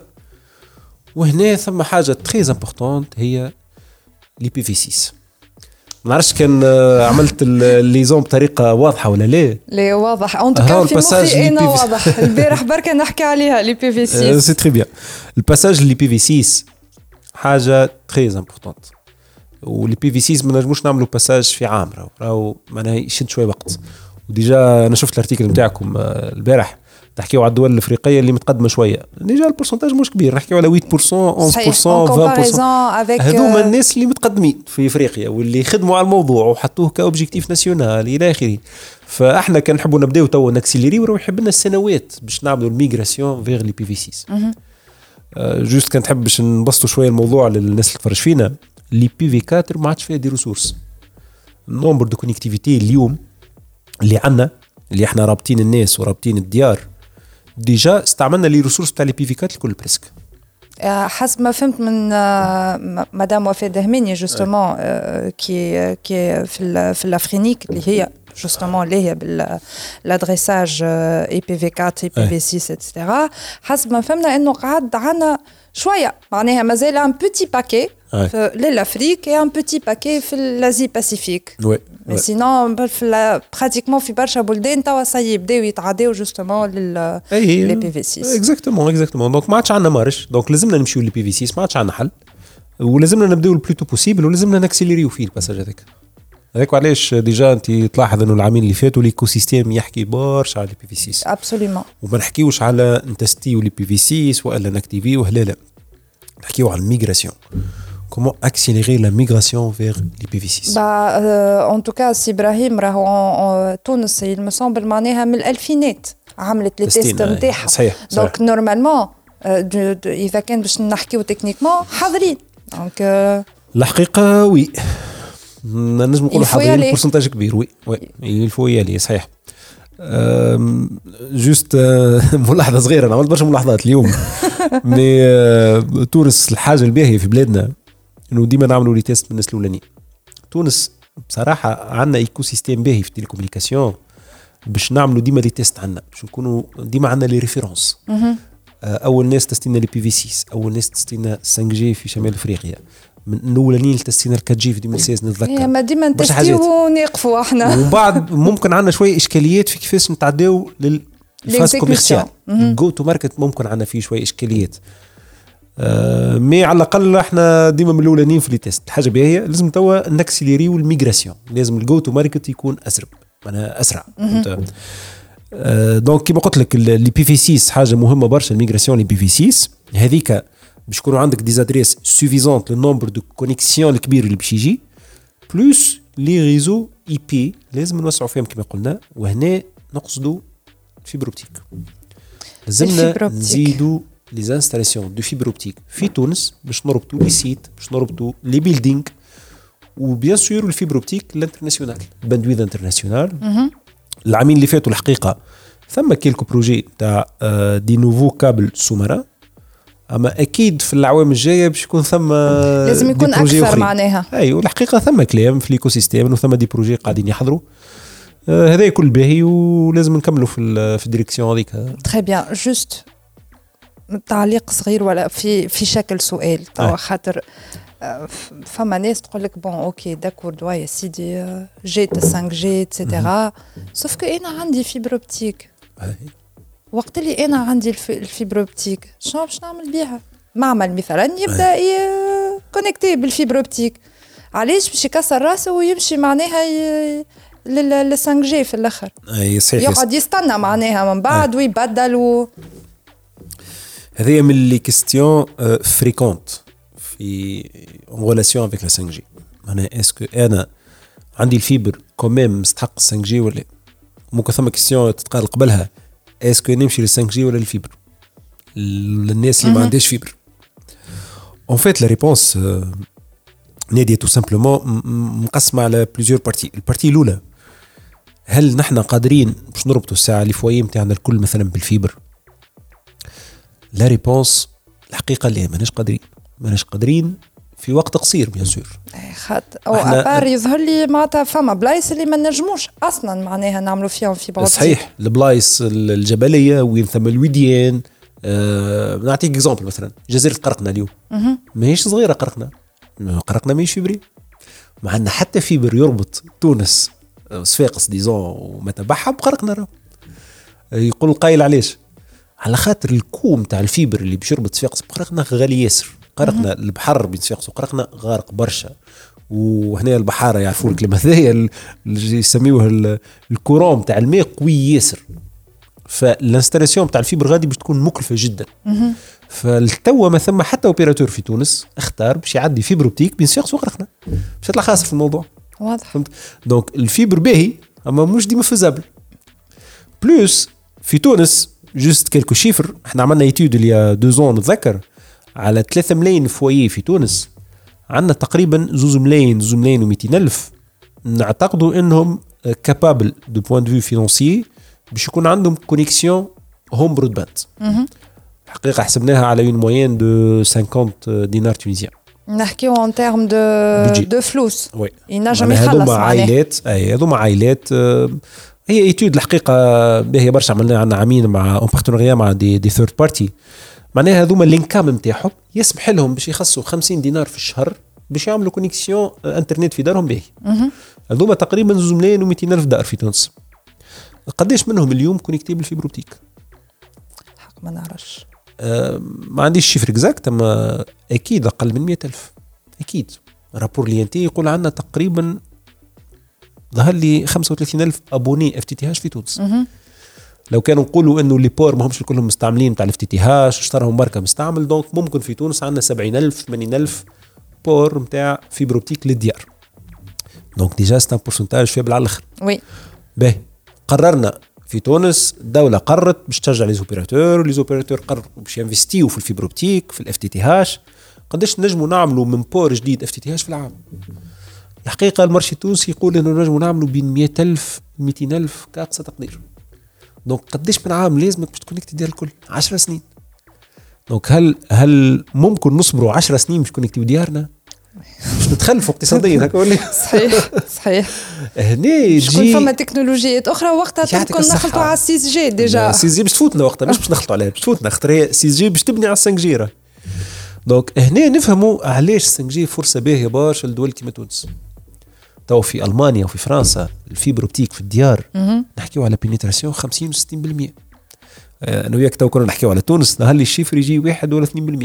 وهنا ثم حاجه تري امبورطونت هي لي بي في 6. ما نعرفش كان عملت الليزون بطريقه واضحه ولا لا. لا واضح اون توكا في مخي انا واضح. البارح بركه نحكي عليها لي بي في 6 سي تري بيان. الباساج لي بي في 6 حاجه تري امبورطونت. ولي بي في 6 ما نجموش نعملوا باساج في عام راهو معناها يشد شويه وقت. وديجا انا شفت الارتيكل نتاعكم البارح تحكيوا على الدول الافريقيه اللي متقدمه شويه. ديجا البورسنتاج مش كبير نحكيوا على 8% 11% 20%. هذوما الناس اللي متقدمين في افريقيا واللي يخدموا على الموضوع وحطوه كاوبجيكتيف ناسيونال الى اخره. فاحنا كان نحبوا نبداو تو ناكسيليري وراو يحب لنا السنوات باش نعملوا الميغراسيون فيغ لي بي في 6. جوست كان نحب باش نبسطوا شويه الموضوع للناس اللي تفرج فينا. لي بي في 4 ما عادش فيها دي ريسورس. النومبر دو كونيكتيفيتي اليوم اللي عندنا اللي احنا رابطين الناس ورابطين الديار ديجا استعملنا لي ريسورس تاع لي بي في 4 الكل بريسك. حسب ما فهمت من مدام وفاء دهماني جوستومون كي في الافرينيك اللي هي جوستومون اللي هي بالادريساج اي بي في 4 اي بي في 6 اتسيتيرا. حسب ما فهمنا انه قعد عنا شويه معناها مازال ان بوتي باكي للافريك et un petit paquet في الازي باسيفيك. mais sinon pratiquement في برشا بلدان توا سي يبداو يتعداو جوستومون لي بي في 6. اكزاكتومون دونك ما عادش عندنا مارش. دونك لازمنا نمشيو لي بي في 6 ما عادش عندنا حل ولازمنا نبداو البلوتو بوسيبل ولازمنا ناكسيليريو فيه الباساج هذاك. هذاك علاش ديجا انت تلاحظ انه العامين اللي فاتوا ليكو سيستيم يحكي برشا على البي في 6 ابسوليومون. وما نحكيوش على نتستيو لي بي في 6 ولا نكتيفيو لا نحكيو على الميغراسيون. Comment accélérer la migration vers l'IPv6 En tout cas, si Ibrahim راهو تونس il me semble معناها من الألفينات عملت لي تيست نتاعها. صحيح. دونك نورمالمون إذا كان باش نحكيو تكنيكمون حاضرين. دونك الحقيقة وي نجم نقولوا حاضرين بورسنتاج كبير. وي الفو يالي صحيح. جوست ملاحظة صغيرة، أنا عملت برشا ملاحظات اليوم. مي تونس الحاجة الباهية في بلادنا انه ديما نعملوا لي تيست بالناس الاولانيين. تونس بصراحه عندنا ايكو سيستيم باهي في التليكومونيكاسيون باش نعملوا ديما لي تيست عندنا، باش نكونوا ديما عندنا لي ريفيرونس. اول ناس تستينا لي بي في 6، اول ناس تستينا 5 جي في شمال افريقيا، من الاولانيين تستينا 4 جي في 2016 نتذكر. ما ديما نتستيو ونقفوا احنا. ومن بعد ممكن عندنا شويه اشكاليات في كيفاش نتعداو للفاز كوميرسيال. جو تو ماركت ممكن عندنا فيه شويه اشكاليات. مي على الاقل احنا ديما من الاولانيين في لي تيست. الحاجه باهيه لازم توا نكسيليريو الميغراسيون، لازم الجو تو ماركت يكون اسرع. دونك كيما قلت لك لي بي في 6 حاجه مهمه برشا. الميغراسيون لي بي في 6 هذيك باش يكونوا عندك دي ادريس سوفيزونت للنومبر دو كونيكسيون الكبير اللي باش يجي، بلوس لي ريزو اي بي لازم نوسعوا فيهم كما قلنا. وهنا نقصدوا فيبر اوبتيك، لازمنا نزيدوا les installations de fibre optique في تونس باش نربطوا لي سيت، باش نربطوا لي بيلدينغ، وبيان سور الفيبر اوبتيك الانترناسيونال باندويث انترناسيونال. العامين اللي فاتوا الحقيقه ثم كيلكو بروجي تاع دي نوفو كابل سومرا، اما اكيد في الاعوام الجايه باش يكون ثم لازم يكون اكثر معناها. ايوه الحقيقه ثم كلام في الايكو سيستيم وثم دي بروجي قاعدين يحضروا. هذا كل باهي ولازم نكملوا في الديريكسيون هذيك. تري بيان. جوست تعليق صغير ولا في شكل سؤال توا خاطر فما ناس تقول لك بون اوكي داكور دوا يا سيدي جيت 5 جي اتسيتيرا، سوف كو انا عندي فيبر اوبتيك. وقت اللي انا عندي الفيبر اوبتيك شنو باش نعمل بيها؟ معمل مثلا يبدا كونيكتي بالفيبر اوبتيك، علاش باش يكسر راسه ويمشي معناها لل 5 جي في الاخر؟ اي صحيح، يقعد يستنى معناها من بعد ويبدل هذه من لي كيستيون فريكونت في en relation avec la 5G. معناها اسكو انا عندي الفيبر كوميم مستحق 5G ولا ممكن ثم كيستيون تتقال قبلها اسكو نمشي لل 5G ولا الفيبر للناس اللي ما عندهاش فيبر. en fait la réponse نادية tout simplement مقسمة على plusieurs parties. البارتي الأولى، هل نحن قادرين باش نربطوا الساعة اللي فوية متاعنا الكل مثلا بالفيبر؟ لا ريبونس الحقيقة لا، ماناش قادرين في وقت قصير بيان سور. او ابار يظهر لي معناتها فما بلايص اللي ما نجموش اصلا معناها نعملوا فيهم فيبر اوبتيك. صحيح، البلايص الجبلية وين ثم الوديان. نعطيك اكزامبل مثلا جزيرة قرقنا اليوم ماهيش صغيرة. قرقنا ماهيش فيبري، ما عندنا حتى فيبر يربط تونس صفاقس ديزون ومتبعها بقرقنا. يقول القايل علاش؟ على خاطر الكوم تاع الفيبر اللي باش يربط صفاقس بقرقنا غالي ياسر. قرقنا البحر بين صفاقس وقرقنا غارق برشا، وهنا البحاره يعرفوا الكلمه هذيا اللي يسميوه الكورون تاع الماء قوي ياسر، فالانستالاسيون تاع الفيبر غادي باش تكون مكلفه جدا. فالتوا ما ثم حتى اوبيراتور في تونس اختار باش يعدي فيبر اوبتيك بين صفاقس وقرقنا، باش يطلع خاسر في الموضوع. واضح. دونك الفيبر باهي اما مش ديما فيزابل. بلوس في تونس جوست كيلكو شيفر، احنا عملنا ايتود اللي 2 زون نتذكر على 3 ملايين فويي في تونس، عندنا تقريبا 2 ملايين و200 ألف نعتقدوا انهم كابابل دو بوين دو فيو فينانسيي باش يكون عندهم كونيكسيون هوم برودباند. حقيقة حسبناها على اون موين دو 50 دينار تونيزيان. نحكيو اون تيرم دو فلوس. وي ينجم يخلص هذوما عائلات. هي ايتود الحقيقه باهيه برشا، عملنا عندنا عامين مع اون بارتنريا مع دي ثيرد بارتي. معناها هذوما الانكام نتاعهم يسمح لهم باش يخصوا 50 دينار في الشهر باش يعملوا كونيكسيون انترنت في دارهم باهي. هذوما تقريبا 2 ملايين و200 ألف دار في تونس. قداش منهم اليوم كونيكتي بالفيبر اوبتيك؟ حق ما نعرفش. ما عنديش شيفر اكزاكت، اما اكيد اقل من 100 ألف. اكيد رابور لينتي يقول عندنا تقريبا ظهر لي 35,000 ابوني اف تي تي هاش في تونس. لو كانوا نقولوا انه لي بور ما همش كلهم مستعملين تاع الاف تي تي هاش اشتراهم ماركه مستعمل، دونك ممكن في تونس عندنا 70,000 80,000 بور نتاع فيبر اوبتيك للديار. دونك ديجا سي ان بورسنتاج فيبل على الاخر. وي باهي قررنا في تونس، الدوله قررت باش تشجع لي زوبيراتور قرروا باش ينفستيو في الفيبر اوبتيك في الاف تي تي هاش. قداش نجموا نعملوا من بور جديد اف تي تي هاش في العام؟ الحقيقه المارشي التونسي يقول انه نجموا نعملوا بين 100,000 200,000 كاقصى تقدير. دونك قداش من عام لازمك باش تكونكتي ديال الكل؟ 10 سنين. دونك هل ممكن نصبروا 10 سنين باش تكونكتيو ديارنا؟ باش نتخلفوا اقتصاديا هكا ولا؟ صحيح. هني تجي فما تكنولوجيات اخرى وقتها تكون نخلطوا على 6 جي ديجا. 6 جي باش تفوتنا وقتها، مش باش نخلطوا عليها، باش تفوتنا خاطر 6 جي باش تبني على 5 جي. دونك هنا نفهموا علاش 5 جي فرصه باهيه برشا لدول كيما تونس. تو في المانيا وفي فرنسا الفيبر اوبتيك في الديار نحكيو على بينيتراسيون 50 و 60%. انا وياك تو كنا نحكيو على تونس نهار لي الشيفر يجي 1 ولا 2%.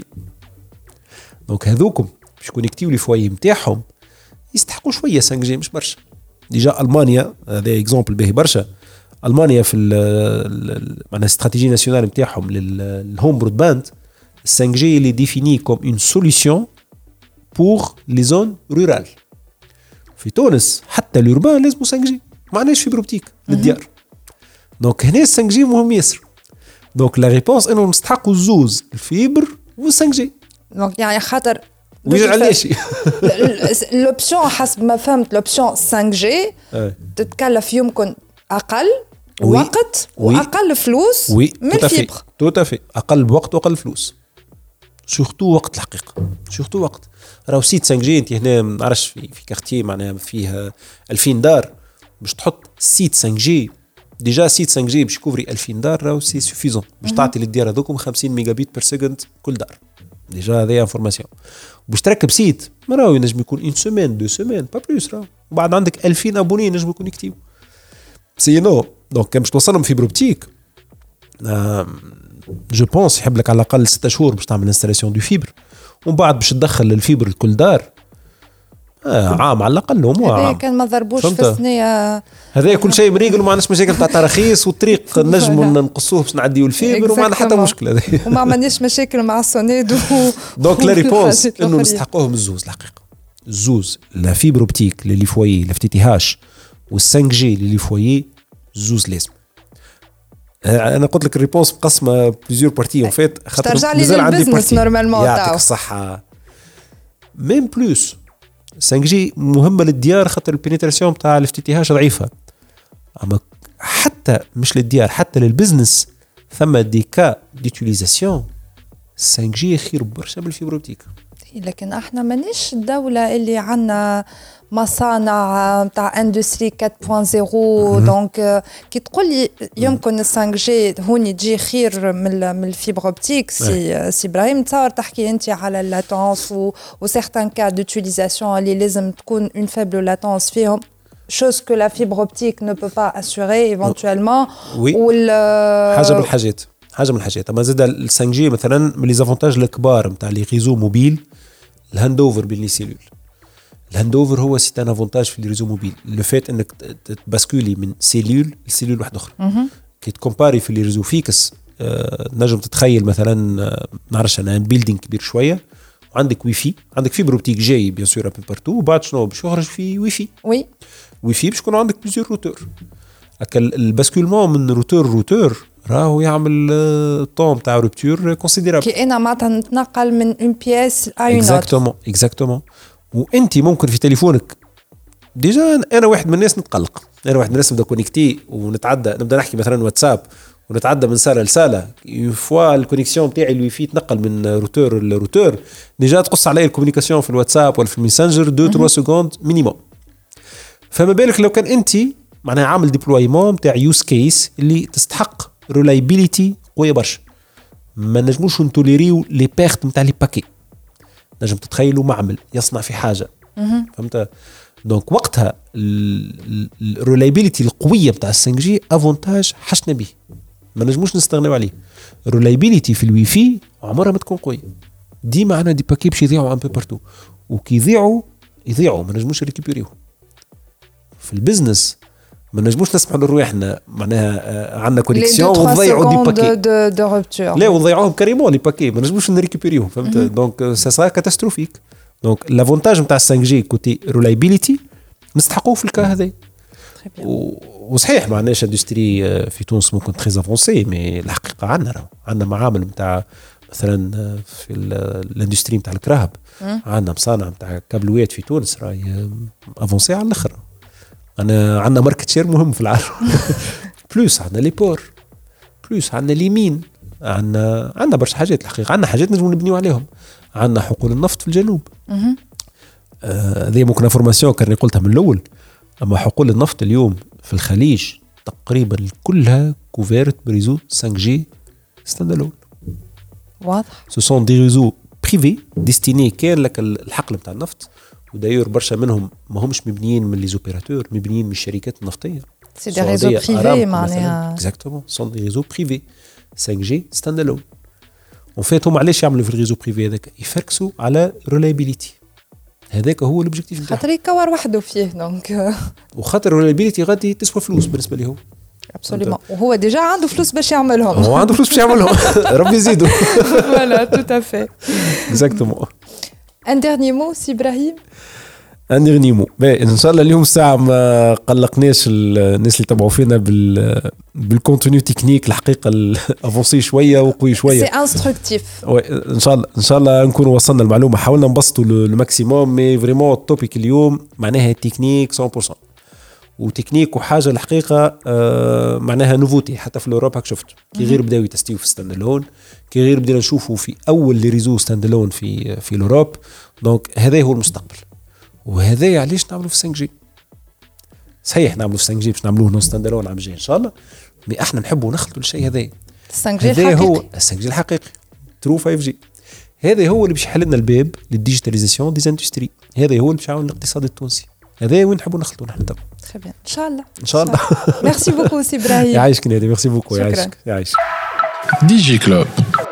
دونك هذوكم باش كونيكتيو لي فوايي نتاعهم يستحقوا شويه 5 جي مش برشا. ديجا المانيا هذا اكزامبل باهي برشا. المانيا في معناها استراتيجيه ناسيونال نتاعهم للهوم برودباند 5 جي اللي ديفيني كوم اون سوليسيون بور لي زون رورال. في تونس حتى اليوربان لازم 5 جي، ما عندناش فيبر اوبتيك للديار. دونك هنا 5 جي مهم ياسر. دونك لا ريبونس انه نستحقوا الزوز الفيبر و 5 جي. دونك يعني خاطر ويجي علاش لوبسيون حسب ما فهمت لوبسيون 5 جي تتكلف يمكن اقل وقت واقل فلوس من الفيبر. تو تافي اقل وقت واقل فلوس، سورتو وقت الحقيقه، سورتو وقت. راهو سيت 5 جي انت هنا ما نعرفش في كارتيه معناها فيه 2000 دار باش تحط سيت 5 جي. ديجا سيت 5 جي باش يكوفري 2000 دار راهو سي سوفيزون باش تعطي للديار هذوكم 50 ميجا بيت بير سكند كل دار. ديجا هذه انفورماسيون. باش تركب سيت ما راهو ينجم يكون 1 سيمين 2 سيمين با بلوس. راهو وبعد عندك 2000 ابوني ينجم يكون يكتيو سينو. دونك كان باش توصلهم فيبر اوبتيك جو بونس يحب لك على الاقل 6 شهور باش تعمل انستالاسيون دو فيبر، ومن بعد باش تدخل الفيبر لكل دار عام على الاقل. هذا كان ما ضربوش في الثنيه. هذا كل شيء مريقل وما عندناش مشاكل تاع تراخيص والطريق نجموا ننقصوه باش نعديو الفيبر وما عندنا حتى مشكله. وما عملناش مشاكل مع السونيد دونك لا ريبونس انه نستحقوهم الزوز الحقيقه. الزوز لا فيبر اوبتيك للي فوايي لا اف تي هاش وال5 جي للي فوايي زوز لازم. انا قلت لك الريبونس مقسمه بليزيور بارتي اون فيت خاطر مازال عندي بارتي نورمالمون يعطيك الصحه. ميم بلوس 5 جي مهمه للديار خاطر البينيتراسيون تاع الاف تي هاش ضعيفه. اما حتى مش للديار حتى للبزنس ثم دي كا ديوتيليزاسيون 5 جي خير برشا من الفيبر اوبتيك. لكن احنا مانيش الدوله اللي عندنا مصانع تاع اندستري 4.0. دونك كي تقول لي يمكن 5 جي هوني تجي خير من الفيبر اوبتيك سي ابراهيم تصور تحكي انت على اللاتونس و سيغتان كا دوتيليزاسيون اللي لازم تكون اون فيبل لاتونس فيهم chose que la fibre optique ne peut pas assurer éventuellement. حاجه من الحاجات. اما زاد ال 5 جي مثلا من لي زافونتاج الكبار نتاع لي ريزو موبيل الهاند اوفر بين لي سيلول. الهاند اوفر هو سي ان افونتاج في لي ريزو موبيل، لو فات انك تباسكولي من سيلول لسيلول واحده اخرى. كي تكومباري في لي ريزو فيكس نجم تتخيل مثلا نعرفش انا بيلدينغ كبير شويه وعندك واي فاي، عندك فيبر اوبتيك جاي بيان سور ابي بارتو، وبعد شنو باش يخرج في واي فاي. وي واي فاي باش يكون عندك بليزيور روتور. هكا الباسكولمون من روتور راهو يعمل طوم تاع روبتور كونسيديرابل. كي انا معناتها نتنقل من اون بياس ا اون اوتر. اكزاكتومون. وانت ممكن في تليفونك ديجا انا واحد من الناس نتقلق، انا واحد من الناس نبدا كونيكتي ونتعدى نبدا نحكي مثلا واتساب ونتعدى من ساله لساله، اون فوا الكونيكسيون تاعي الواي فاي تنقل من روتور لروتور ديجا تقص علي الكومونيكاسيون في الواتساب ولا في الميسنجر 2-3 سكوند مينيموم. فما بالك لو كان انت معناها عامل ديبلويمون تاع يوز كيس اللي تستحق ريلايبيليتي قويه برشا، ما نجموش نتوليريو لي بيرت نتاع لي باكي. نجم تتخيلوا معمل يصنع في حاجه فهمت. دونك وقتها الريلايبيليتي القويه نتاع 5 جي افونتاج حشنا به، ما نجموش نستغنوا عليه. الريلايبيليتي في الواي فاي عمرها ما تكون قويه، ديما عندنا دي باكي باش يضيعوا ان بو بارتو، وكي يضيعوا ما نجموش ريكوبيريو. في البيزنس ما نجموش نسمحوا لروحنا معناها عندنا كونيكسيون وضيعوا دي باكي دو روبتور لا وضيعوهم كاريمون لي باكي ما نجموش نريكوبيريهم فهمت دونك سا سا كاتاستروفيك دونك لافونتاج نتاع 5 جي كوتي ريلايبيليتي نستحقوه في الكا هذا وصحيح ما عندناش اندستري في تونس ممكن تري افونسي مي الحقيقه عندنا معامل نتاع مثلا في الاندستري نتاع الكراهب عندنا مصانع نتاع كابلويات في تونس راهي افونسي على الاخر عندنا ماركت شير مهم في العالم بلوس عندنا لي بور بلوس عندنا اليمين عندنا برشا حاجات الحقيقه عندنا حاجات نجمو نبنيو عليهم عندنا حقول النفط في الجنوب هذه ممكن انفورماسيون كاني قلتها من الاول اما حقول النفط اليوم في الخليج تقريبا كلها كوفيرت بريزو 5 جي ستاندالون واضح سو سون دي ريزو بريفي ديستيني كان لك الحقل نتاع النفط وداير برشا منهم ما همش مبنيين من لي زوبيراتور مبنيين من الشركات النفتيه سي دي ريزو بريفي معناها اكزاكتومون سون دي ريزو بريفي 5 جي ستاندالون اون فيت هم علاش يعملوا في الريزو بريفي هذاك يفركسوا على ريلايبيليتي هذاك هو الاوبجيكتيف نتاعو خاطر يكور وحده فيه دونك وخاطر الريلايبيليتي غادي تسوى فلوس بالنسبه لهم ابسوليومون وهو ديجا عنده فلوس باش يعملهم هو عنده فلوس باش يعملهم ربي يزيدوا فوالا تو افي اكزاكتومون ان ديرني مو سي ابراهيم ان ديرني مو ان شاء الله اليوم الساعه ما قلقناش الناس اللي تبعوا فينا بالكونتوني تكنيك الحقيقه افونسي شويه وقوي شويه سي انستركتيف ان شاء الله نكونوا وصلنا المعلومه حاولنا نبسطوا الماكسيموم مي فريمون التوبيك اليوم معناها تكنيك 100% وتكنيك وحاجه الحقيقه معناها نوفوتي حتى في الاوروبا شفت كي غير بداو يتستيو في ستاندالون كي غير بدينا نشوفوا في اول لي ريزو ستاندالون في الاوروب دونك هذا هو المستقبل وهذا علاش نعملوا في 5 جي صحيح نعملوا في 5 جي باش نعملوه نون ستاندالون عام جاي ان شاء الله مي احنا نحبوا نخلطوا الشيء هذا 5 جي الحقيقي هو 5 جي الحقيقي ترو 5 جي هذا هو اللي باش يحل لنا الباب للديجيتاليزاسيون دي اندستري هذا هو اللي باش يعاون الاقتصاد التونسي هذا وين نحبوا نخلطوا نحن توا تري بيان ان شاء الله ان شاء الله ميرسي بوكو سي ابراهيم يعيشك نادي ميرسي بوكو يعيشك دي جي كلوب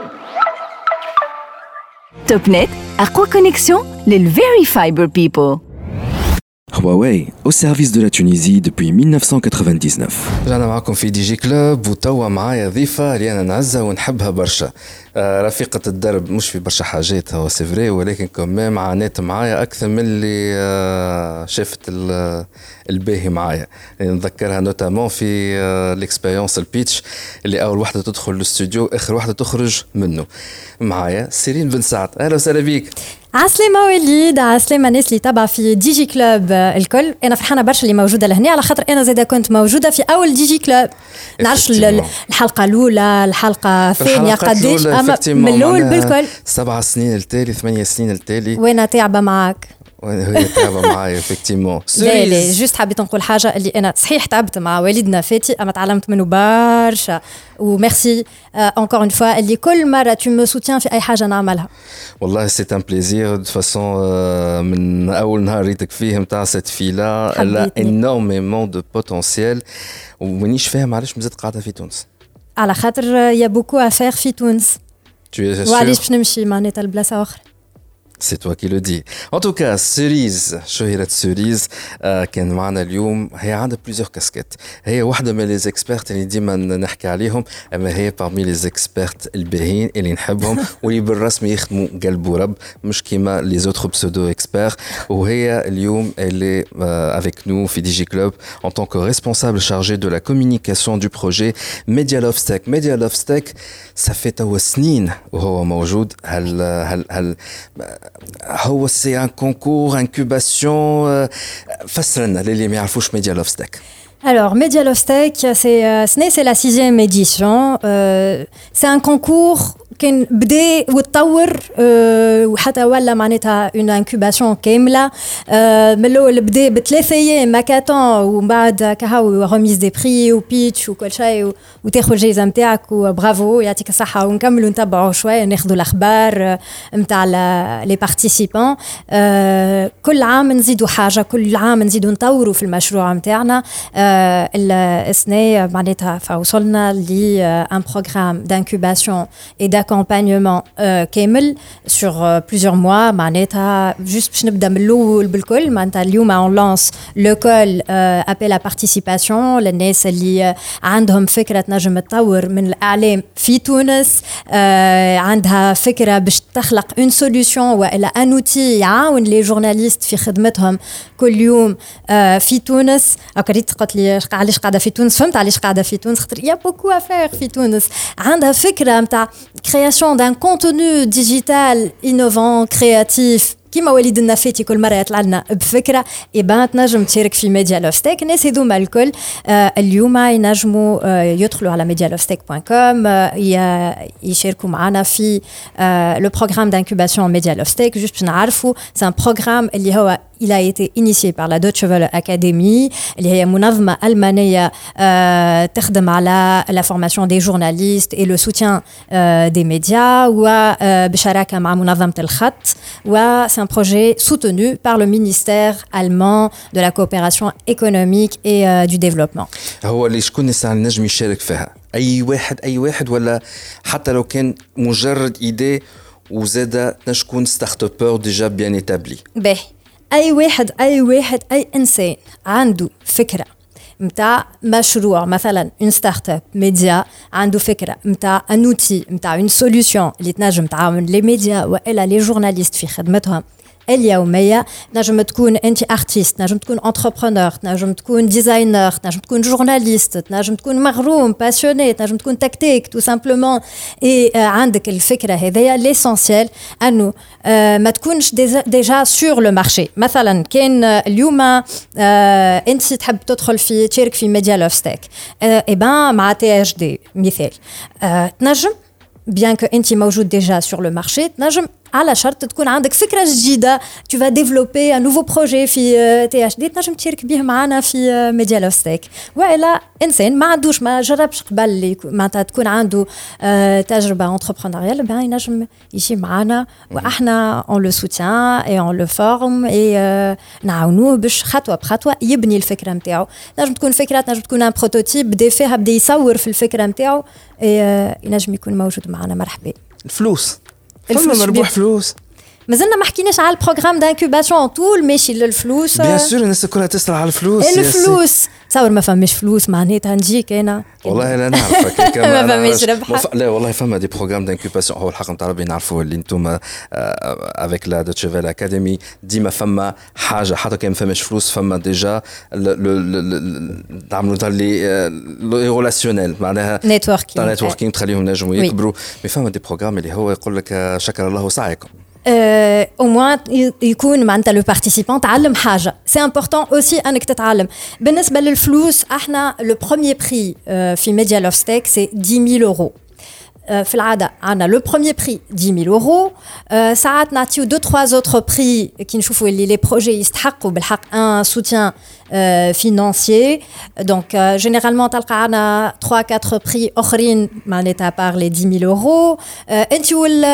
توب نت أقوى كونيكسيون للفيري فايبر بيبل. Huawei, au service de la Tunisie depuis 1999. رجعنا معكم في دي جي كلوب وتوا معايا ضيفة اللي أنا نعزها ونحبها برشا رفيقة الدرب مش في برشا حاجات هو سيفري ولكن كمان عانيت معايا أكثر من اللي شافت الباهي معايا نذكرها نوتامون في الإكسبيرينس البيتش اللي أول واحدة تدخل الاستوديو آخر واحدة تخرج منه معايا سيرين بن سعد. أهلا وسهلا بيك. عسلامة وليد، عسلامة الناس اللي تابعة في دي جي كلوب الكل. أنا فرحانة برشا اللي موجودة لهنا على خاطر أنا زادا كنت موجودة في أول دي جي كلوب. نعرفش الحلقة الأولى الحلقة الثانية قديش من الأول بالكل 7 سنين التالي 8 سنين التالي وأنا تعبة معاك وهي تعبة معايا effectivement. لا جوست حبيت نقول حاجة اللي أنا صحيح تعبت مع والدنا فاتي أما تعلمت منه برشا وميرسي encore une fois اللي كل مرة tu me soutiens في أي حاجة نعملها. والله c'est un plaisir de façon من أول نهار ريتك فيه متاع cette fille-là elle a énormément de potentiel ومانيش فاهم علاش مازالت قاعدة في تونس. على خاطر يا beaucoup à faire في تونس. Tu es sûr؟ وعلاش باش نمشي معناتها لبلاصة أخرى. C'est toi qui le dis. En tout cas, Cerise, شهيرة Cerise كان معنا اليوم. هي عندها plusieurs casquettes. هي واحدة من les experts اللي ديما نحكي عليهم، أما هي parmi les experts الباهين اللي نحبهم واللي بالرسمي يخدموا قلب ورب مش كيما les autres pseudo experts. وهي اليوم elle est avec nous في DG Club en tant que responsable chargé de la communication du projet Media Love Stack. Media Love Stack ça fait توا سنين وهو موجود. هل هو سي ان كونكور انكوباسيون فسرنا للي ما يعرفوش ميديا لوف ستاك. Alors, Media Love Stack, c'est la 6e édition. C'est un concours كان بدأ وتطور وحتى ولا معناتها اون انكوباسيون كامله. من الاول بدا ب3 ايام ماكاتون ومن بعد كهو ريميز دي بري وبيتش وكل شيء وتاخذ الجائزه نتاعك وبرافو يعطيك الصحه. ونكملوا نتبعوا شويه ناخذوا الاخبار نتاع لي بارتيسيبون. كل عام نزيدوا حاجه كل عام نزيدوا نطوروا في المشروع نتاعنا. السنه معناتها فوصلنا ل ان بروغرام دانكوباسيون اي d'accompagnement كامل sur plusieurs mois معناتها juste باش نبدا من الاول بالكل معناتها اليوم on lance le call appel à participation للناس اللي عندهم فكره تنجم تطور من الاعلام في تونس عندها فكره باش تخلق une solution والا ان outil يعاون لي جورناليست في خدمتهم كل يوم في تونس. قريت قلت لي علاش قاعده في تونس فهمت علاش قاعده في تونس خاطر يا بوكو افير في تونس عندها فكره نتاع création d'un contenu digital innovant créatif كيما وليد النفاتي كل مره يطلع لنا بفكره يبقى تنجم تشارك في ميديا لوفستيك. الناس هذوما الكل اليوم ينجموا يدخلوا على medialofstech.com يشاركوا معنا في لو بروغرام دانكوباسيون ميديا لوفستيك. جوست باش نعرفوا سي ان بروغرام اللي هو il a été initié par la Deutsche Welle Academy اللي هي منظمة ألمانية تخدم على la formation des journalistes et le soutien des médias وبشراكة مع منظمة الخط و c'est un projet soutenu par le ministère allemand de la coopération économique et du développement. هو اللي شكون الناس نجم يشارك فيها أي واحد ولا حتى لو كان مجرد إيدي وزادة نشكون ستارت ابور ديجا بيان إيتابلي. باهي أي واحد أي إنسان عنده فكرة متاع مشروع مثلا une start-up média عنده فكرة متاع un outil متاع une solution اللي تنجم تعاون les médias وإلا les journalistes في خدمتهم اليومية. نجم تكون أنت أرتيست، نجم تكون انتربرونور، نجم تكون ديزاينر، نجم تكون جورناليست، نجم تكون مغروم باسيوني، نجم تكون تكتيك تو سامبلومون. عندك الفكرة هذيا ليسونسيال أنه ما تكونش ديجا سور لو مارشي. مثلا كان اليوم أنت تحب تدخل في تشارك في ميديا لوفستيك إبان مع THD مثال تنجم bien que أنت موجود déjà sur le marché تنجم على شرط تكون عندك فكرة جديدة tu vas développer un nouveau projet في THD تنجم تشارك به معنا في ميديا لوفستيك. وإلا إنسان ما عندوش ما جربش قبل معناتها تكون عنده تجربة entrepreneuriale بها ينجم يجي معنا وإحنا on le soutient et on le forme et نعاونوه باش خطوة بخطوة يبني الفكرة متاعه. نجم تكون فكرة نجم تكون un prototype بدا فيها بدا يصور في الفكرة متاعه ينجم يكون موجود معنا. مرحبا. الفلوس مربوح فلوس مازلنا ما حكيناش على البروغرام دانكوباسيون طول ماشي للفلوس. بيان سور الناس كلها تسرع على الفلوس. الفلوس تصور ما فماش فلوس معناتها نجيك انا والله لا نعرفك ما فماش ربح. لا والله فما دي بروغرام دانكوباسيون هو الحق نتاع ربي نعرفوه اللي انتم افيك لا دوتشي فيل اكاديمي ديما فما حاجه حتى كان ما فماش فلوس فما ديجا نعملوا تاع لي ريلاسيونيل معناها نتوركينغ تخليهم نجموا يكبروا. مي فما دي بروغرام اللي هو يقول لك شكر الله سعيكم au moins يكون معناتها لو بارتيسيبون تعلم حاجه. سي امبورطون اوسي انك تتعلم. بالنسبه للفلوس احنا لو بروميير بري في ميديا لوفستيك سي 10000 يورو. في العاده عندنا لو بروميير بري 10000 يورو. ساعات نعطيو 2-3 autres بري كي نشوفوا اللي لي بروجي يستحقوا بالحق ان سوتيان financier. Donc généralement تلقى عنا 3-4 prix اخرين معناتها par les 10000 يورو. انت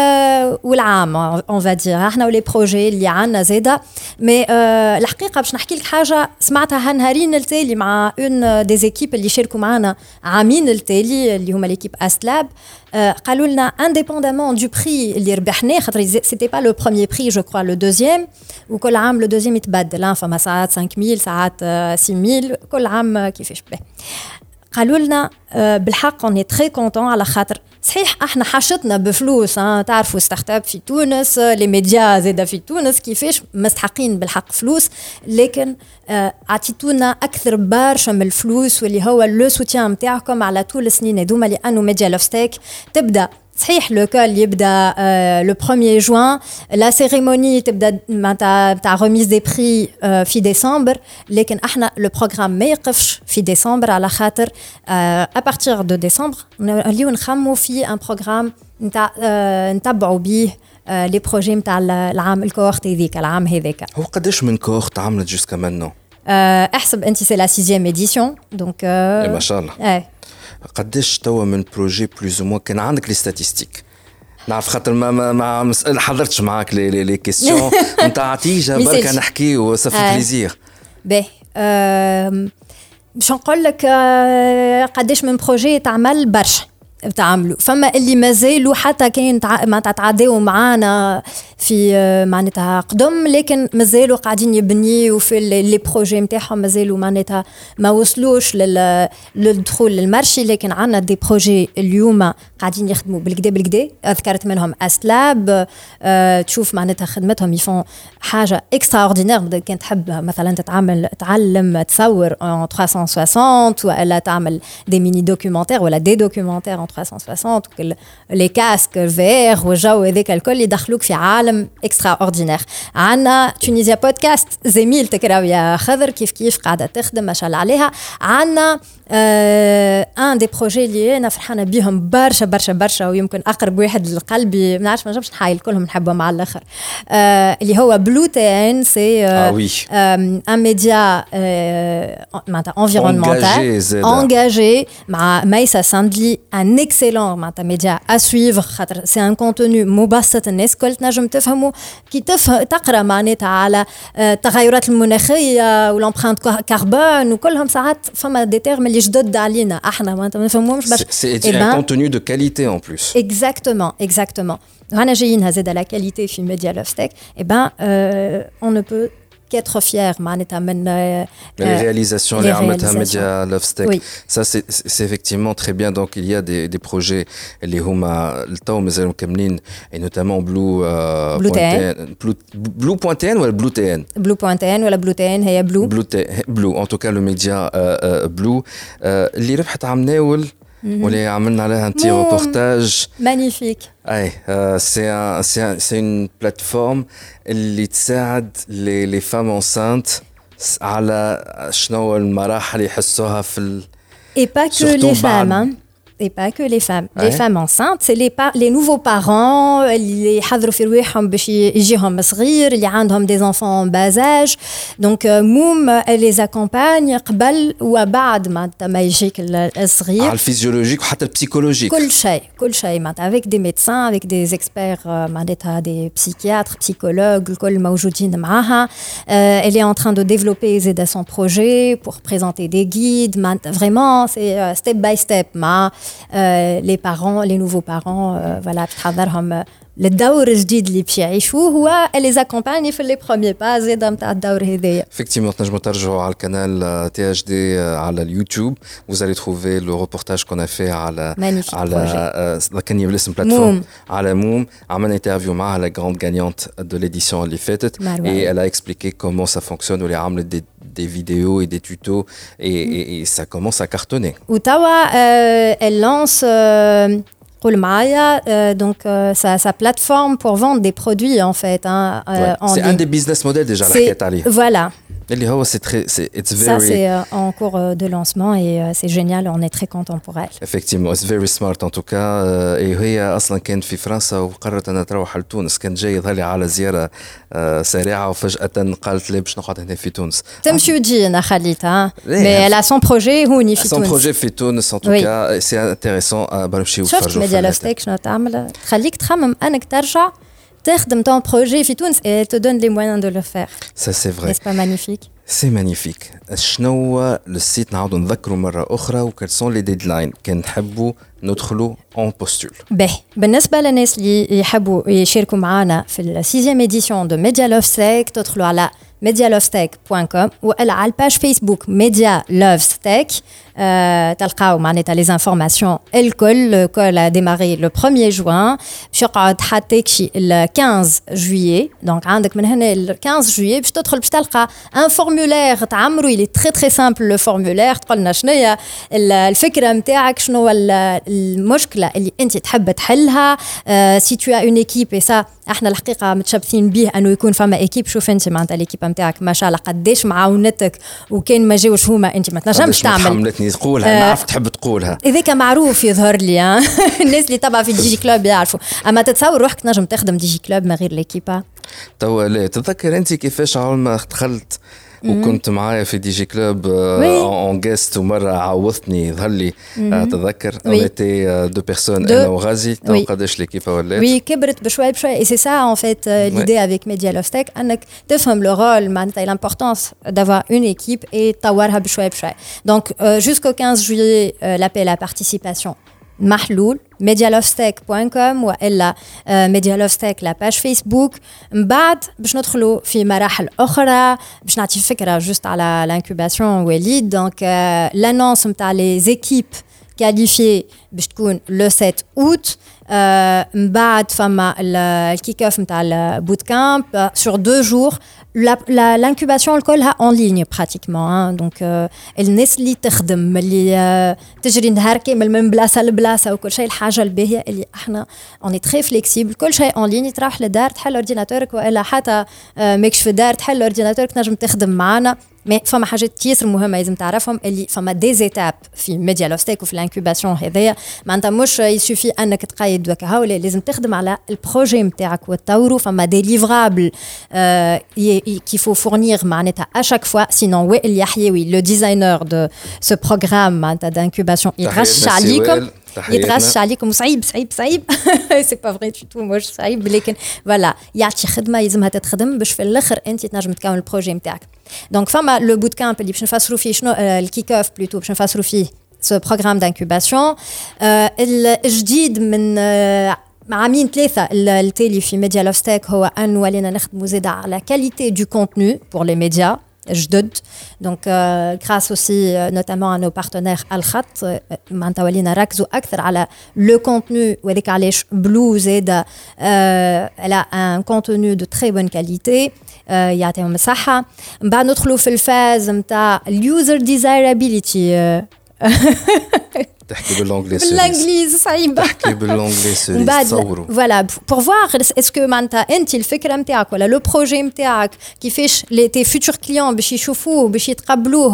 والعام on va dire احنا ولي بروجي اللي عنا زاده. مي الحقيقه باش نحكي لك حاجه سمعتها هالنهارين التالي مع اون دي زيكيب اللي شاركوا معنا عامين التالي اللي هما ليكيب استلاب. قالوا لنا انديبوندامون دو بري اللي ربحناه خاطر سيتي با لو بروميير بري جو كرو لو دوزيام وكل عام لو دوزيام يتبدل فما ساعات 5000 ساعات 6000 كل عام كيفاش به. قالوا لنا بالحق اوني تري كونطون على خاطر صحيح احنا حاشتنا بفلوس تعرفوا ستارت اب في تونس لي ميديا زاده في تونس كيفاش مستحقين بالحق فلوس لكن عطيتونا اكثر برشا من الفلوس واللي هو لو سوتيان نتاعكم على طول السنين هذوما لانه ميديا لوفستيك تبدا صحيح لو كول يبدا لو 1er جوان لا سيريموني تبدا تاع ريميز دي بري في ديسمبر لكن احنا لو بروغرام ما يقفش في ديسمبر على خاطر ا بارتير دو ديسمبر نوليو نخمو في ان بروغرام نتاع نتبعوا بيه لي بروجي نتاع العام الكوورت هذيك العام هذاك. هو قداش من كوورت عملت جوسكا مانو؟ احسب انت سي لا 6e édition دونك ما شاء الله. قداش توا من بروجي بلوز مو كان عندك لي ستاتستيك؟ نعرف خاطر ما حضرتش معاك لي كيسيون نتاع عتيجه بركه نحكي وصافي بليزير. باهي باش نقول لك قداش من بروجي تعمل برشا تعملوا فما اللي مازالوا حتى كاين ما تتعداو معانا في معناتها قدم لكن مازالوا قاعدين يبنيوا في لي بروجي نتاعهم مازالوا معناتها ما وصلوش للدخول للمارشي لكن عندنا دي بروجي اليوم قاعدين يخدموا بالكدا ذكرت منهم اسلاب تشوف معناتها خدمتهم يفون حاجه اكسترا اوردينير كان تحب مثلا تعلم تصور en 360 ولا تعمل دي ميني دوكيومنتير ولا دي دوكيومنتير en 360 لي كاسك فير والجو هذاك الكل يدخلوك في عالم اكسترا اوردينير. عندنا تونيزيا بودكاست زميل تكراو يا خضر كيف قاعده تخدم ما شاء الله عليها. عندنا ان دي بروجي اللي انا فرحانه بيهم برشا ويمكن اقرب واحد لقلبي ما نعرفش ما نجمش نحايل كلهم نحبهم على الاخر اللي هو بلو تي ان سي ان ميديا معناتها انفيرونمونتال انجاجي مع ميسا ساندلي ان اكسيلون معناتها ميديا ا سويفر خاطر سي ان كونتوني مبسط الناس الكل تنجم تفهموا كي تقرا معناتها على التغيرات المناخيه والامبرانت كربون وكلهم ساعات فما دي تيرم اللي جدد علينا احنا ما نفهموش باش سي ان كونتوني دو كاليتي ان بلوس exactement رانا جايين زاد على كاليتي في ميديا لوفستيك on ne peut qu'être fier معناتها من les réalisations اللي عملتها ميديا لوفستيك ça c'est effectivement très bien donc il y a des projets اللي هما التو مازالوا مكملين et notamment Blue Point ولا Blue TN ولا Blue TN هي Blue en tout cas le média Blue اللي ربحت عم ناول واللي عملنا عليها un petit reportage magnifique. C'est une plateforme اللي تساعد les femmes enceintes على شنو المراحل يحسوها في et pas que les femmes hein. Et pas que les femmes. Les femmes enceintes, c'est les nouveaux parents, اللي يحضروا في رواحهم باش يجيهم صغير, اللي عندهم des enfants en bas âge. Donc موم elle les accompagne قبل وبعد ما يجيك الصغير. على الفيزيولوجيك وحتى البسيكولوجيك. كل شيء معناتها avec des médecins, avec des experts معناتها des psychiatres, psychologues, الكل موجودين معاها. Elle est en train de développer زاد son projet pour présenter des guides. Vraiment, c'est step by step. Les parents, les nouveaux parents, voilà, تحضرهم للدور الجديد اللي باش يعيشوه هو les accompagne في les premiers pas زاد نتاع الدور هذايا. Effectivement, تنجموا ترجعوا على القناه THD على اليوتيوب, vous allez trouver le reportage qu'on a fait على كان بالاسم بلاتفورم على موم. عملنا انترفيو مع la grande gagnante de l'édition اللي فاتت et elle a expliqué comment ça fonctionne واللي عملت des vidéos et des tutos et ça commence à cartonner. وتوا elle lance donc sa plateforme pour vendre des produits en fait hein, c'est un des business models déjà voilà. It's ça c'est en cours de lancement et c'est génial, on est très content pour elle. Effectivement, it's very smart en tout cas. وهي اصلا كانت في فرنسا وقررت انها تروح لتونس, كانت جايه ظهري على زياره سريعه وفجاه قالت لي باش نقعد هنا في تونس. تمشي وتجي انا خليتها mais elle a son projet هوني في تونس. son projet في تونس en tout cas c'est intéressant. بنمشيو نتفرجوا. شفت ميديا لوفستيك شنو تعمل تخليك تخمم انك ترجع تخدم ton projet في تونس et elle te donne les moyens de le faire. Ça c'est vrai. N'est-ce pas magnifique? C'est magnifique. شنو هو السيت نعاودوا نذكروا مرة أخرى وكل سون لي ديدلاين كان نحبوا ندخلوا اون بوستول. بالنسبة للناس اللي يحبوا يشاركوا معنا في السيزيام إديسيون دو ميديا لوفستيك تدخلوا على medialovestech.com ولا على الباج فيسبوك ميديا لوفستيك تلقاو معناتها لي انفورماسيون الكل a démarré le 1er juin باش يقعد حتى ال 15 juillet. دونك عندك من هنا ال 15 juillet باش تدخل باش تلقى ان فورمولير تعمرو il est très très simple le formulaire تقول لنا شنو هي الفكرة نتاعك, شنو المشكلة اللي انت تحب تحلها. si tu as une équipe et ça احنا الحقيقة متشبثين به انه يكون فما ايكيب. شوف انت معناتها الايكيب نتاعك ما شاء الله قداش معاونتك وكان ما جاوش هما انت ما تنجمش تعمل. حملتني تقولها نعرف تحب تقولها اذاك معروف يظهر لي الناس اللي تبع في ديجي كلوب يعرفوا. اما تتصور روحك تنجم تخدم ديجي كلوب من غير ليكيبا؟ توا لا تتذكر انت كيفاش اول ما دخلت وكنت معايا في دي جي كلوب اون جيست ومره عوضتني يظهر لي تذكر اونيتي دو بيرسون انا وغازي. تو قداش ليكيب ولات؟ وي كبرت بشوي بشوي اي سي سا ان فيت ليدي افيك ميديا لوفستيك انك تفهم لو رول معناتها لامبورطونس دافوار اون ايكيب اي تطورها بشوي بشوي. دونك jusqu'au 15 juillet l'appel à participation محلول medialovestack.com والا medialovestack لا باج فيسبوك. من بعد باش ندخلوا في مراحل اخرى باش نعطي فكره جوست على الانكوباسيون وليد. دونك لانونس نتاع لي زيكيب qualifié باش تكون le 7 août. من بعد فما الكيك اوف نتاع البوت كامب sur 2 jours. L'incubation الكلها en ligne pratiquement. Donc الناس اللي تخدم اللي تجري نهار كامل من بلاصه لبلاصه وكل شيء. الحاجه الباهيه اللي احنا on est très flexible كل شيء en ligne. تروح للدار تحل اورديناتورك والا حتى ماكش في الدار تحل اورديناتورك تنجم تخدم معنا. مي فما حاجات ياسر مهمه لازم تعرفهم اللي فما دي زيتاب في ميديا لوستيك وفي الانكوباسيون هذايا. معناتها مش يسوفي انك تقيد وكها ولا لازم تخدم على البروجي نتاعك وتطوروا. فما دي ليفرابل qu'il faut fournir معناتها à chaque fois sinon وائل يحيوي le designer de ce programme معناتها d'incubation يتغش عليكم يتغش عليكم. وصعيب صعيب صعيب سي با فري تو مش صعيب لكن فوالا يعطي خدمه يلزمها تتخدم باش في الاخر انت تنجم تكون البروجي نتاعك. دونك فما لو بوت كامب اللي باش نفسروا فيه شنو الكيك اوف بلوتو باش نفسروا فيه سو بروغرام دانكوباسيون الجديد من عامين 3 التالي في ميديا لوستيك هو ان ولينا نخدموا زيدا على كاليتي دو كونتوني بور لي ميديا جدد. دونك grâce aussi notamment à nos partenaires الخط معناتها ولينا ركزوا اكثر على لو كونتوني وهذاك علاش بلو زيدا elle a un contenu de très bonne qualité يعطيهم الصحه. من بعد ندخلوا في الفاز نتاع اليوزر ديزايرابيليتي تحكي بالانجليزي بالانجليزي صعيب تحكي بالانجليزي تصوروا فوالا بور فوار اسكو معناتها انت الفكره نتاعك ولا لو بروجي نتاعك كيفاش لي تي فيوتور كليون باش يشوفوه باش يتقبلوه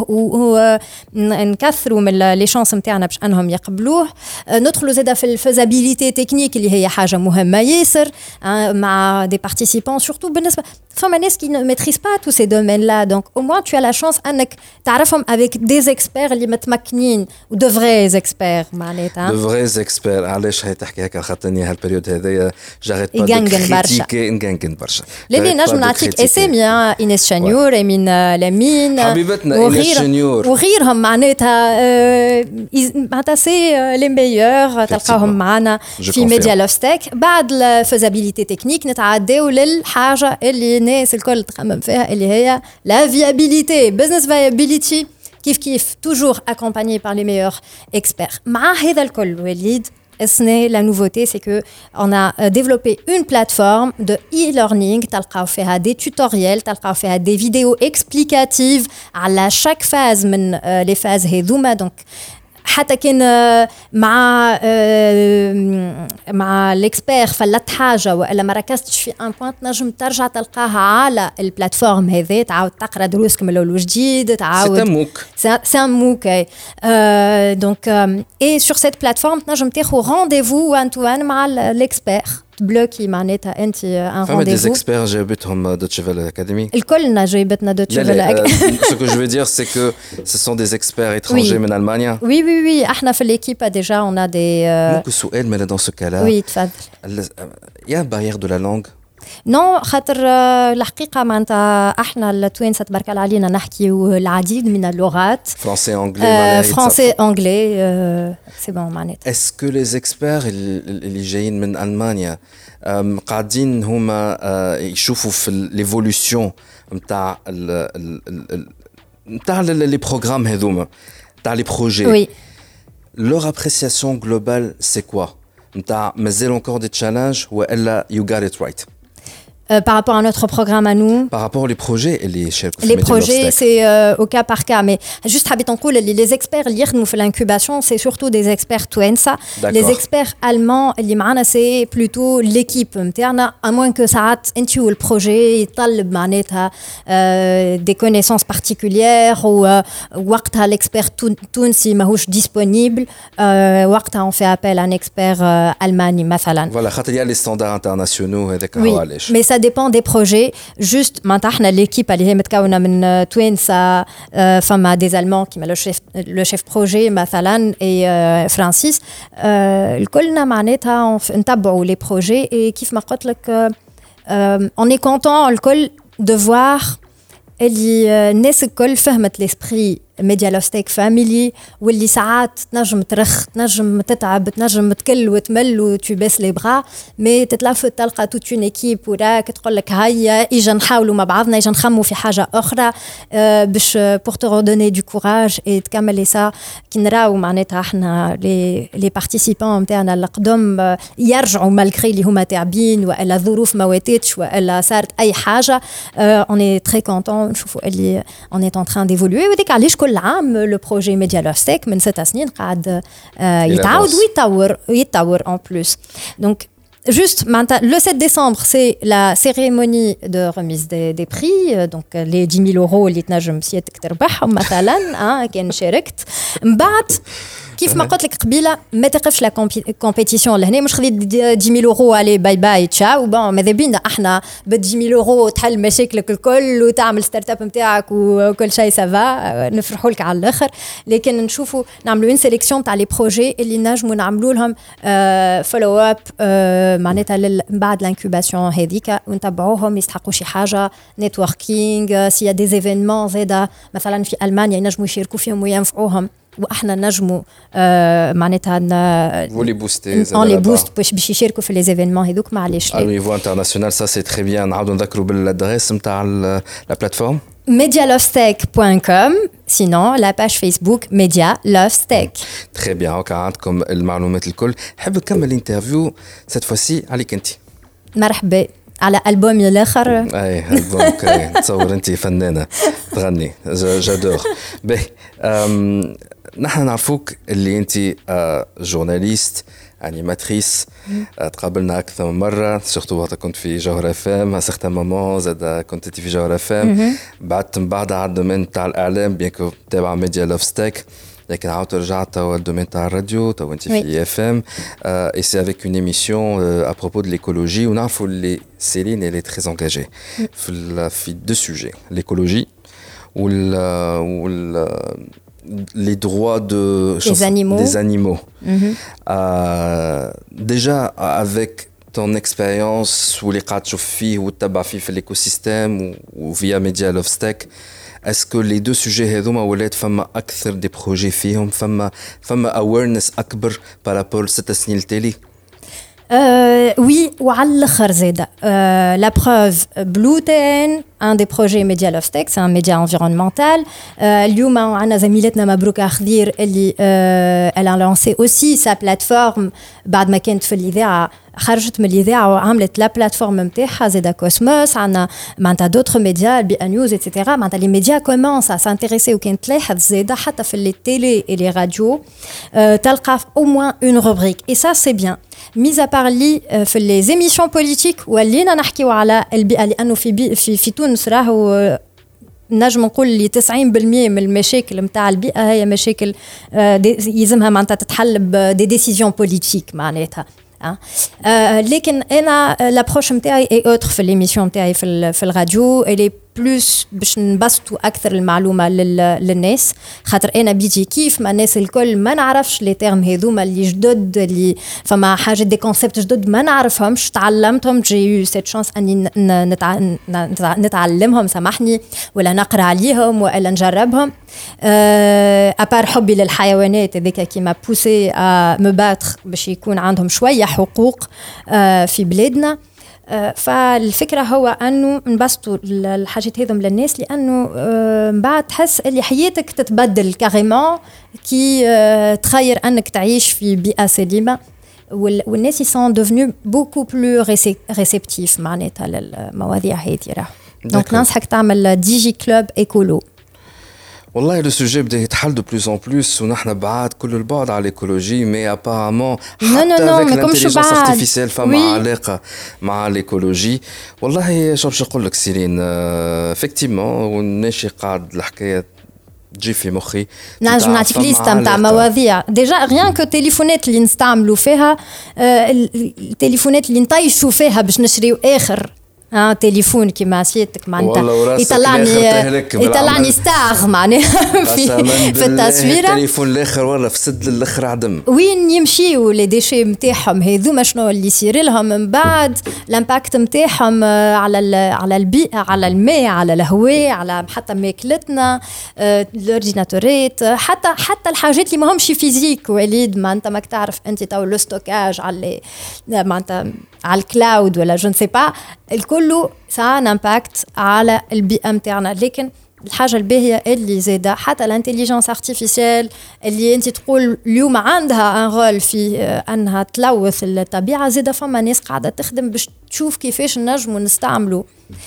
ونكثروا من لي شانس نتاعنا باش انهم يقبلوه. ندخلوا زاده في الفيزابيليتي تكنيك اللي هي حاجه مهمه ياسر مع دي بارتيسيبون سورتو بالنسبه فما ناس كي ميتريز با تو سي دومين لا. دونك او موان تو لا شانس انك تعرفهم افيك دي اكسبير اللي متمكنين ودو فري اكسبير معناتها دو فري اكسبير. علاش هي تحكي هكا خاطرني هالبريود هذايا جاريت با كريتيكي نغنغن برشا. لاني نجم نعطيك اسامي اينيس شانيور امين لامين حبيبتنا اينيس شانيور وغيرهم معناتها سي لي ميور تلقاهم معنا في ميديا لوستيك. بعد الفيزابيليتي تكنيك نتعداو للحاجه اللي الناس الكل تخمم فيها اللي هي لا فيابيليتي بزنس فيابيليتي كيف toujours accompagné par les meilleurs experts. مع هذا الكل وليد la nouveauté c'est que on a développé une plateforme de e-learning تلقاو فيها des tutoriels تلقاو فيها des vidéos explicatives على chaque phase من les phases هذوما. donc حتى كان مع الاكسبير فلت حاجه والا ما ركزتش في ان بوينت نجم ترجع تلقاها على البلاتفورم هذه تعاود تقرا دروسك من الاول وجديد تعاود سي ان موك دونك اي سور سيت بلاتفورم تنجم تاخذ رونديفو وان تو وان مع الاكسبير بلوكي معناتها انت ان رونديفو. فما دي اكسبير جابتهم دوتشي فيلا اكاديمي الكلنا جايبتنا دوتشي فيلا اكاديمي. Ce que je veux dire c'est que ce sont des experts étrangers من ألمانيا. Oui احنا في l'équipe déjà on a des ممكن سؤال mais dans ce cas-là oui تفضل. Il y a une barrière de la langue. نو خاطر الحقيقه معناتها احنا التوانسه تبارك الله علينا نحكيو العديد من اللغات فرنسي انجلي فرنسي انجلي سي بون معناتها. اسكو لي زيكسبير اللي جايين من المانيا قاعدين هما يشوفوا في ليفولوسيون نتاع نتاع لي بروغرام هذوما نتاع لي بروجي وي leur appréciation globale c'est quoi نتاع مازال encore des challenges والا you got it right par rapport à notre programme à nous par rapport aux projets les projets c'est au cas par cas mais juste حبيت نقول les experts اللي يخدموا في l'incubation c'est surtout des experts توانسة. les experts allemands اللي معنا c'est plutôt l'équipe نتاعنا à moins que ساعات انت والبروجي يطلب معناتها des connaissances particulières وقتها l'expert تونسي ماهوش disponible وقتها on fait appel à un expert ألماني مثلا. voilà خاطر يا les standards internationaux هذاك هو علاش. mais ça dépend des projets. Juste maintenant احنا l'équipe اللي هي متكونه من توانسه فما des allemands كيما le chef projet مثلا et فرانسيس الكلنا معناتها نتبعوا les projets et كيف ما قلت لك on est content الكل de voir اللي الناس الكل فهمت l'esprit ميديا لوستيك فاميلي واللي ساعات تنجم ترخ تنجم تتعب تنجم تكل وتمل وتباس لي بغا مي تتلفت تلقى توت اون ايكيب وراك تقول لك هيا اجا نحاولوا مع بعضنا اجا نخموا في حاجه اخرى باش بور تو redonner du courage et تكملي سا كي نراو معناتها احنا لي بارتيسيبون نتاعنا القدم يرجعوا مالغري اللي هما تعبين والا الظروف ما واتتش والا صارت اي حاجه on est très content نشوفوا اللي on est en train d'évoluer وديك علاش كل عام لو بروجي ميديا لوستيك من 6 سنين قاعد يتعاود ويتطور en plus donc juste le 7 décembre c'est la cérémonie de remise des prix donc les 10 000 euros اللي تنجم سيادتك تربحهم مثلا كان شاركت من بعد كيف ما قلت لك قبيله ما تقفش لا كومبيتيسيون لهنا مش خذيت 10 000 اورو علي باي باي تشاو بون ماذا بينا احنا ب 10 000 اورو تحل مشاكلك الكل وتعمل ستارت اب نتاعك وكل شيء سافا نفرحوا لك على الاخر لكن نشوفوا نعملوا اون سيليكسيون تاع لي بروجي اللي نجموا نعملوا لهم فولو اب معناتها من بعد الانكوباسيون هذيك ونتبعوهم يستحقوا شي حاجه نيتوركينغ سي دي ايفينمون زاده مثلا في المانيا ينجموا يشاركوا فيهم وينفعوهم واحنا نجموا معناتها فولي بوستي اون لي بوست باش يشاركوا في لي ايفينمون هذوك معليش على نيفو انترناسيونال سا سي تري بيان نعاودوا نذكروا بالادريس نتاع لا بلاتفورم medialovesteak.com sinon la page Facebook Media Love Steak. Très bien, هكا عندكم المعلومات الكل. حاب نكمل الانترفيو سيت فوسي عليك انت. مرحبا على ألبومي الآخر. اي ألبومك نتصور انت فنانة تغني جادور. باهي نحن نعرفوك اللي انت جورناليست انيماتريس تقابلنا اكثر من مره سورتو وقت كنت في جوهر اف ام ا سيغتان مومون زاد كنت في جوهر اف ام بعدت من بعد على الدومين تاع الاعلام بيان كو تابع ميديا لوف ستيك لكن عاودت رجعت توا الدومين تاع الراديو تو انت في اف ام اي سي افيك اون ايميسيون ا بروبو دو ليكولوجي ونعرفوا اللي سيلين اللي تري انجاجي في دو سوجي ليكولوجي وال les droits des animaux. Déjà, avec ton expérience ou les cas de chauffe ou tabafi في l'écosystème ou via Media Love Steak, est-ce que les deux sujets هذوما ولات فما أكثر des projets فيهم فما awareness أكبر par rapport لست سنين التالي؟ Oui, وعلى الآخر زادة. La preuve, Bluetain, un des projets Media Love Steak, c'est un média environnemental. اليوم عندنا زميلتنا مبروكة خضير اللي elle a lancé aussi sa plateforme بعد ما كانت في الإذاعة خرجت من الإذاعة وعملت لا بلاتفورم نتاعها زادا كوسموس عندنا معناتها دوتر ميديا البي ان نيوز ايتترا معناتها لي ميديا كومونس ا سانتيريسي وكان تلاحظ زادا حتى في لي تيلي اي لي راديو تلقى او موان اون روبريك اي سا سي بيان ميزا بار لي في لي زيميسيون بوليتيك ولينا نحكيو على البيئة لأنه في تونس راهو نجم نقول لي 90% من المشاكل نتاع البيئة هي مشاكل يلزمها معناتها تتحل بدي ديسيزيون بوليتيك معناتها لكن انا لابروش نتاعي اي اوتر في ليميسيون نتاعي في الراديو اللي بلوس باش نبسطوا اكثر المعلومه للناس خاطر انا بيجي كيف ما الناس الكل ما نعرفش لي تيرم هذوما اللي جدد اللي فما حاجه دي كونسيبت جدد ما نعرفهمش تعلمتهم جي سيت شانس اني نتعلمهم سامحني ولا نقرا عليهم ولا نجربهم ابار حبي للحيوانات هذيك كيما بوسي مو باتر باش يكون عندهم شويه حقوق في بلادنا فالفكرة هو أنه نبسطوا الحاجات هذم للناس لأنه بعد تحس اللي حياتك تتبدل كاريمون كي تخير أنك تعيش في بيئة سليمة والناس يسون devenus beaucoup plus réceptifs معناتها للمواضيع هذه دونك ننصحك تعمل ديجي كلوب إيكولو والله لو سوجي بدا يتحل دو بلوس اون بلوس ونحن بعاد كل البعد على الايكولوجي مي ابارامون حتى افيك الانتيليجنس ارتيفيسيال فما علاقه مع الايكولوجي والله شو باش نقول لك سيرين افكتيمون ونمشي قاعد الحكايه تجي في مخي نجم نعطيك ليست نتاع مواضيع ديجا ريان كو تليفونات اللي نستعملوا فيها التليفونات اللي نطيشوا فيها باش نشريو اخر تليفون كيما سيتك معناتها يطلعني ستار معناها في التصويره. التليفون الاخر ورا في سد الاخر عدم وين يمشيوا لي ديشي نتاعهم هذوما شنو اللي يصير لهم من بعد الامباكت نتاعهم على البيئه على الماء على الهواء على حتى ماكلتنا الاورديناتورات حتى الحاجات اللي ماهمش فيزيك وليد ما انت ماك تعرف انت تو لو ستوكاج على معناتها على الكلاود ولا جو نسي با الكل سا ان امباكت على البيئه نتاعنا. لكن الحاجه الباهيه اللي زاده حتى الانتيليجنس ارتيفيسيال اللي انت تقول اليوم عندها ان رول في انها تلوث الطبيعه زاده فما ناس قاعده تخدم باش تشوف كيفاش نجموا نستعملوا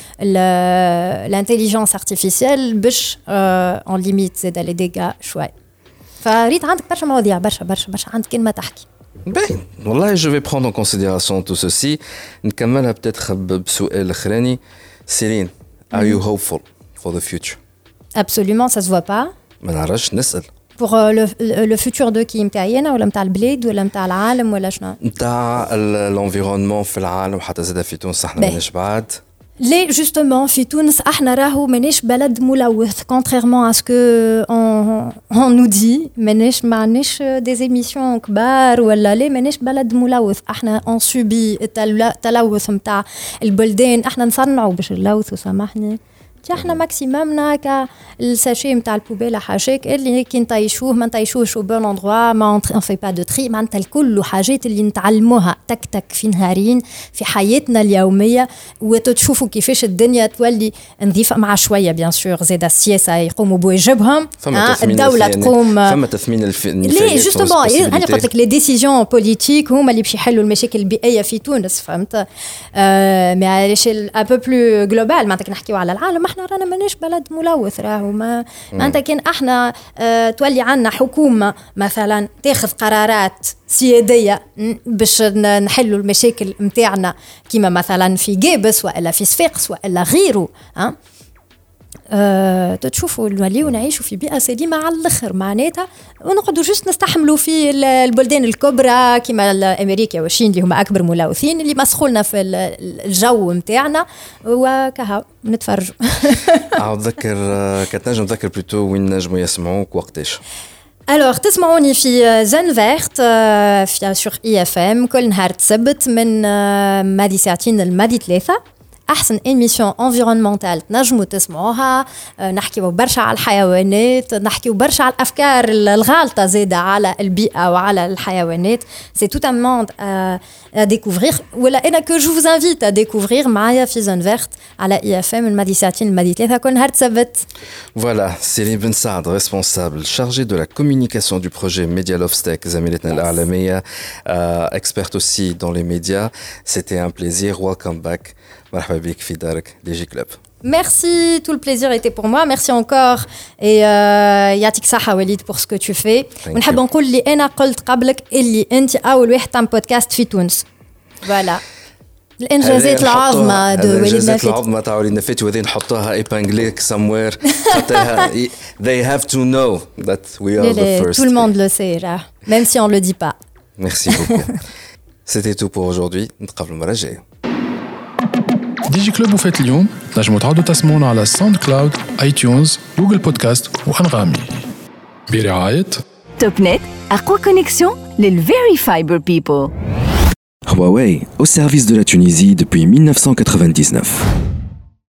الانتيليجنس ارتيفيسيال باش اون ليميت زاده لي ديغا شوي. فريت عندك برشا مواضيع برشا عندك كلمه تحكي. Ben, والله je vais prendre en considération tout ceci. نكملها peut-être بسؤال اخراني. Céline, are you hopeful for the future? Absolument, ça se voit pas. ما نعرفش نسأل. Pour le futur de qui متاعنا ولا متاع البلاد ولا متاع العالم ولا شنو؟ متاع l'environnement في العالم وحتى زاد في تونس احنا ماناش بعاد. ليه justement في تونس احنا راهو ماناش بلد ملوث contrairement à ce que on nous dit ماناش des émissions كبار ولا ليه ماناش بلد ملوث احنا on subit التلوث متاع البلدان احنا نصنعوا باش نلوثوا سامحني احنا ماكسيممنا كالساشي نتاع البوبيله حاجات اللي كي نطيشوه ما نطيشوهش او بون اندروا ما اون في با دو تري معناتها الكل حاجات اللي نتعلموها تك في نهارين في حياتنا اليوميه وتشوفوا كيفاش الدنيا تولي نظيفه مع شويه بيان سور زاد السياسه يقوموا بواجبهم الدوله تقوم فما تثمين ليه جوستومون انا قلت لك لي ديسيزيون بوليتيك هما اللي باش يحلوا المشاكل البيئيه في تونس فهمت مي على شيل ان بو بلو جلوبال معناتها نحكيو على العالم احنا رانا ماناش بلد ملوث راهو ما انت كان احنا تولي عنا حكومه مثلا تاخذ قرارات سياديه باش نحلوا المشاكل نتاعنا كيما مثلا في جابس والا في صفاقس والا غيره تشوفوا نوليو نعيشوا في بيئه سليمه على الاخر معناتها ونقعدوا جست نستحملوا في البلدان الكبرى كيما امريكا والصين اللي هما اكبر ملوثين اللي مسخولنا في الجو نتاعنا وكها نتفرجوا. اتذكر كنت نجم نذكر بلوتو وين نجموا يسمعوك وقتاش؟ الوغ تسمعوني في زن فيرت في سور اي اف ام كل نهار السبت من مادي ساعتين المادي 3 احسن ايميسيون انفيرونمونتال تنجموا تسمعوها نحكيو برشا على الحيوانات نحكيو برشا على الافكار الغالطه زاده على البيئه وعلى الحيوانات سي توت ان موند à découvrir ولا انا كو جو فوز انفيت à découvrir معايا في زون فيرت على اي اف ام المادي ساعتين المادي 3 كل نهار السبت. Voilà, Céline Ben Saad, responsable chargée de la communication du projet Media Love Stack زميلتنا الإعلامية, experte aussi dans les médias. C'était un plaisir. Welcome back. مرحبا بك في دارك ديجي كلوب. Merci, tout le plaisir était pour moi. Merci encore et يعطيك صحة وليد pour ce que tu fais. ونحب نقول اللي أنا قلت قبلك اللي أنت أول واحد تعمل بودكاست في تونس. Voilà. الإنجازات العظمى دو وليد نفيت. الإنجازات العظمى تاع وليد نفيت وذي نحطوها إيبانجليك somewhere. They have to know that we are the first. Tout le monde le sait, même si on le dit pas. Merci beaucoup. C'était tout pour aujourd'hui. نتقابلوا المرة الجاية. ديجي كلوب وفات اليوم نجموا تعودوا تسمعونا على ساوند كلاود اي تيونز جوجل بودكاست وانغامي برعاية توب نت أقوى كونيكسيون للفيري فايبر بيبل. Huawei, au service de la Tunisie depuis 1999.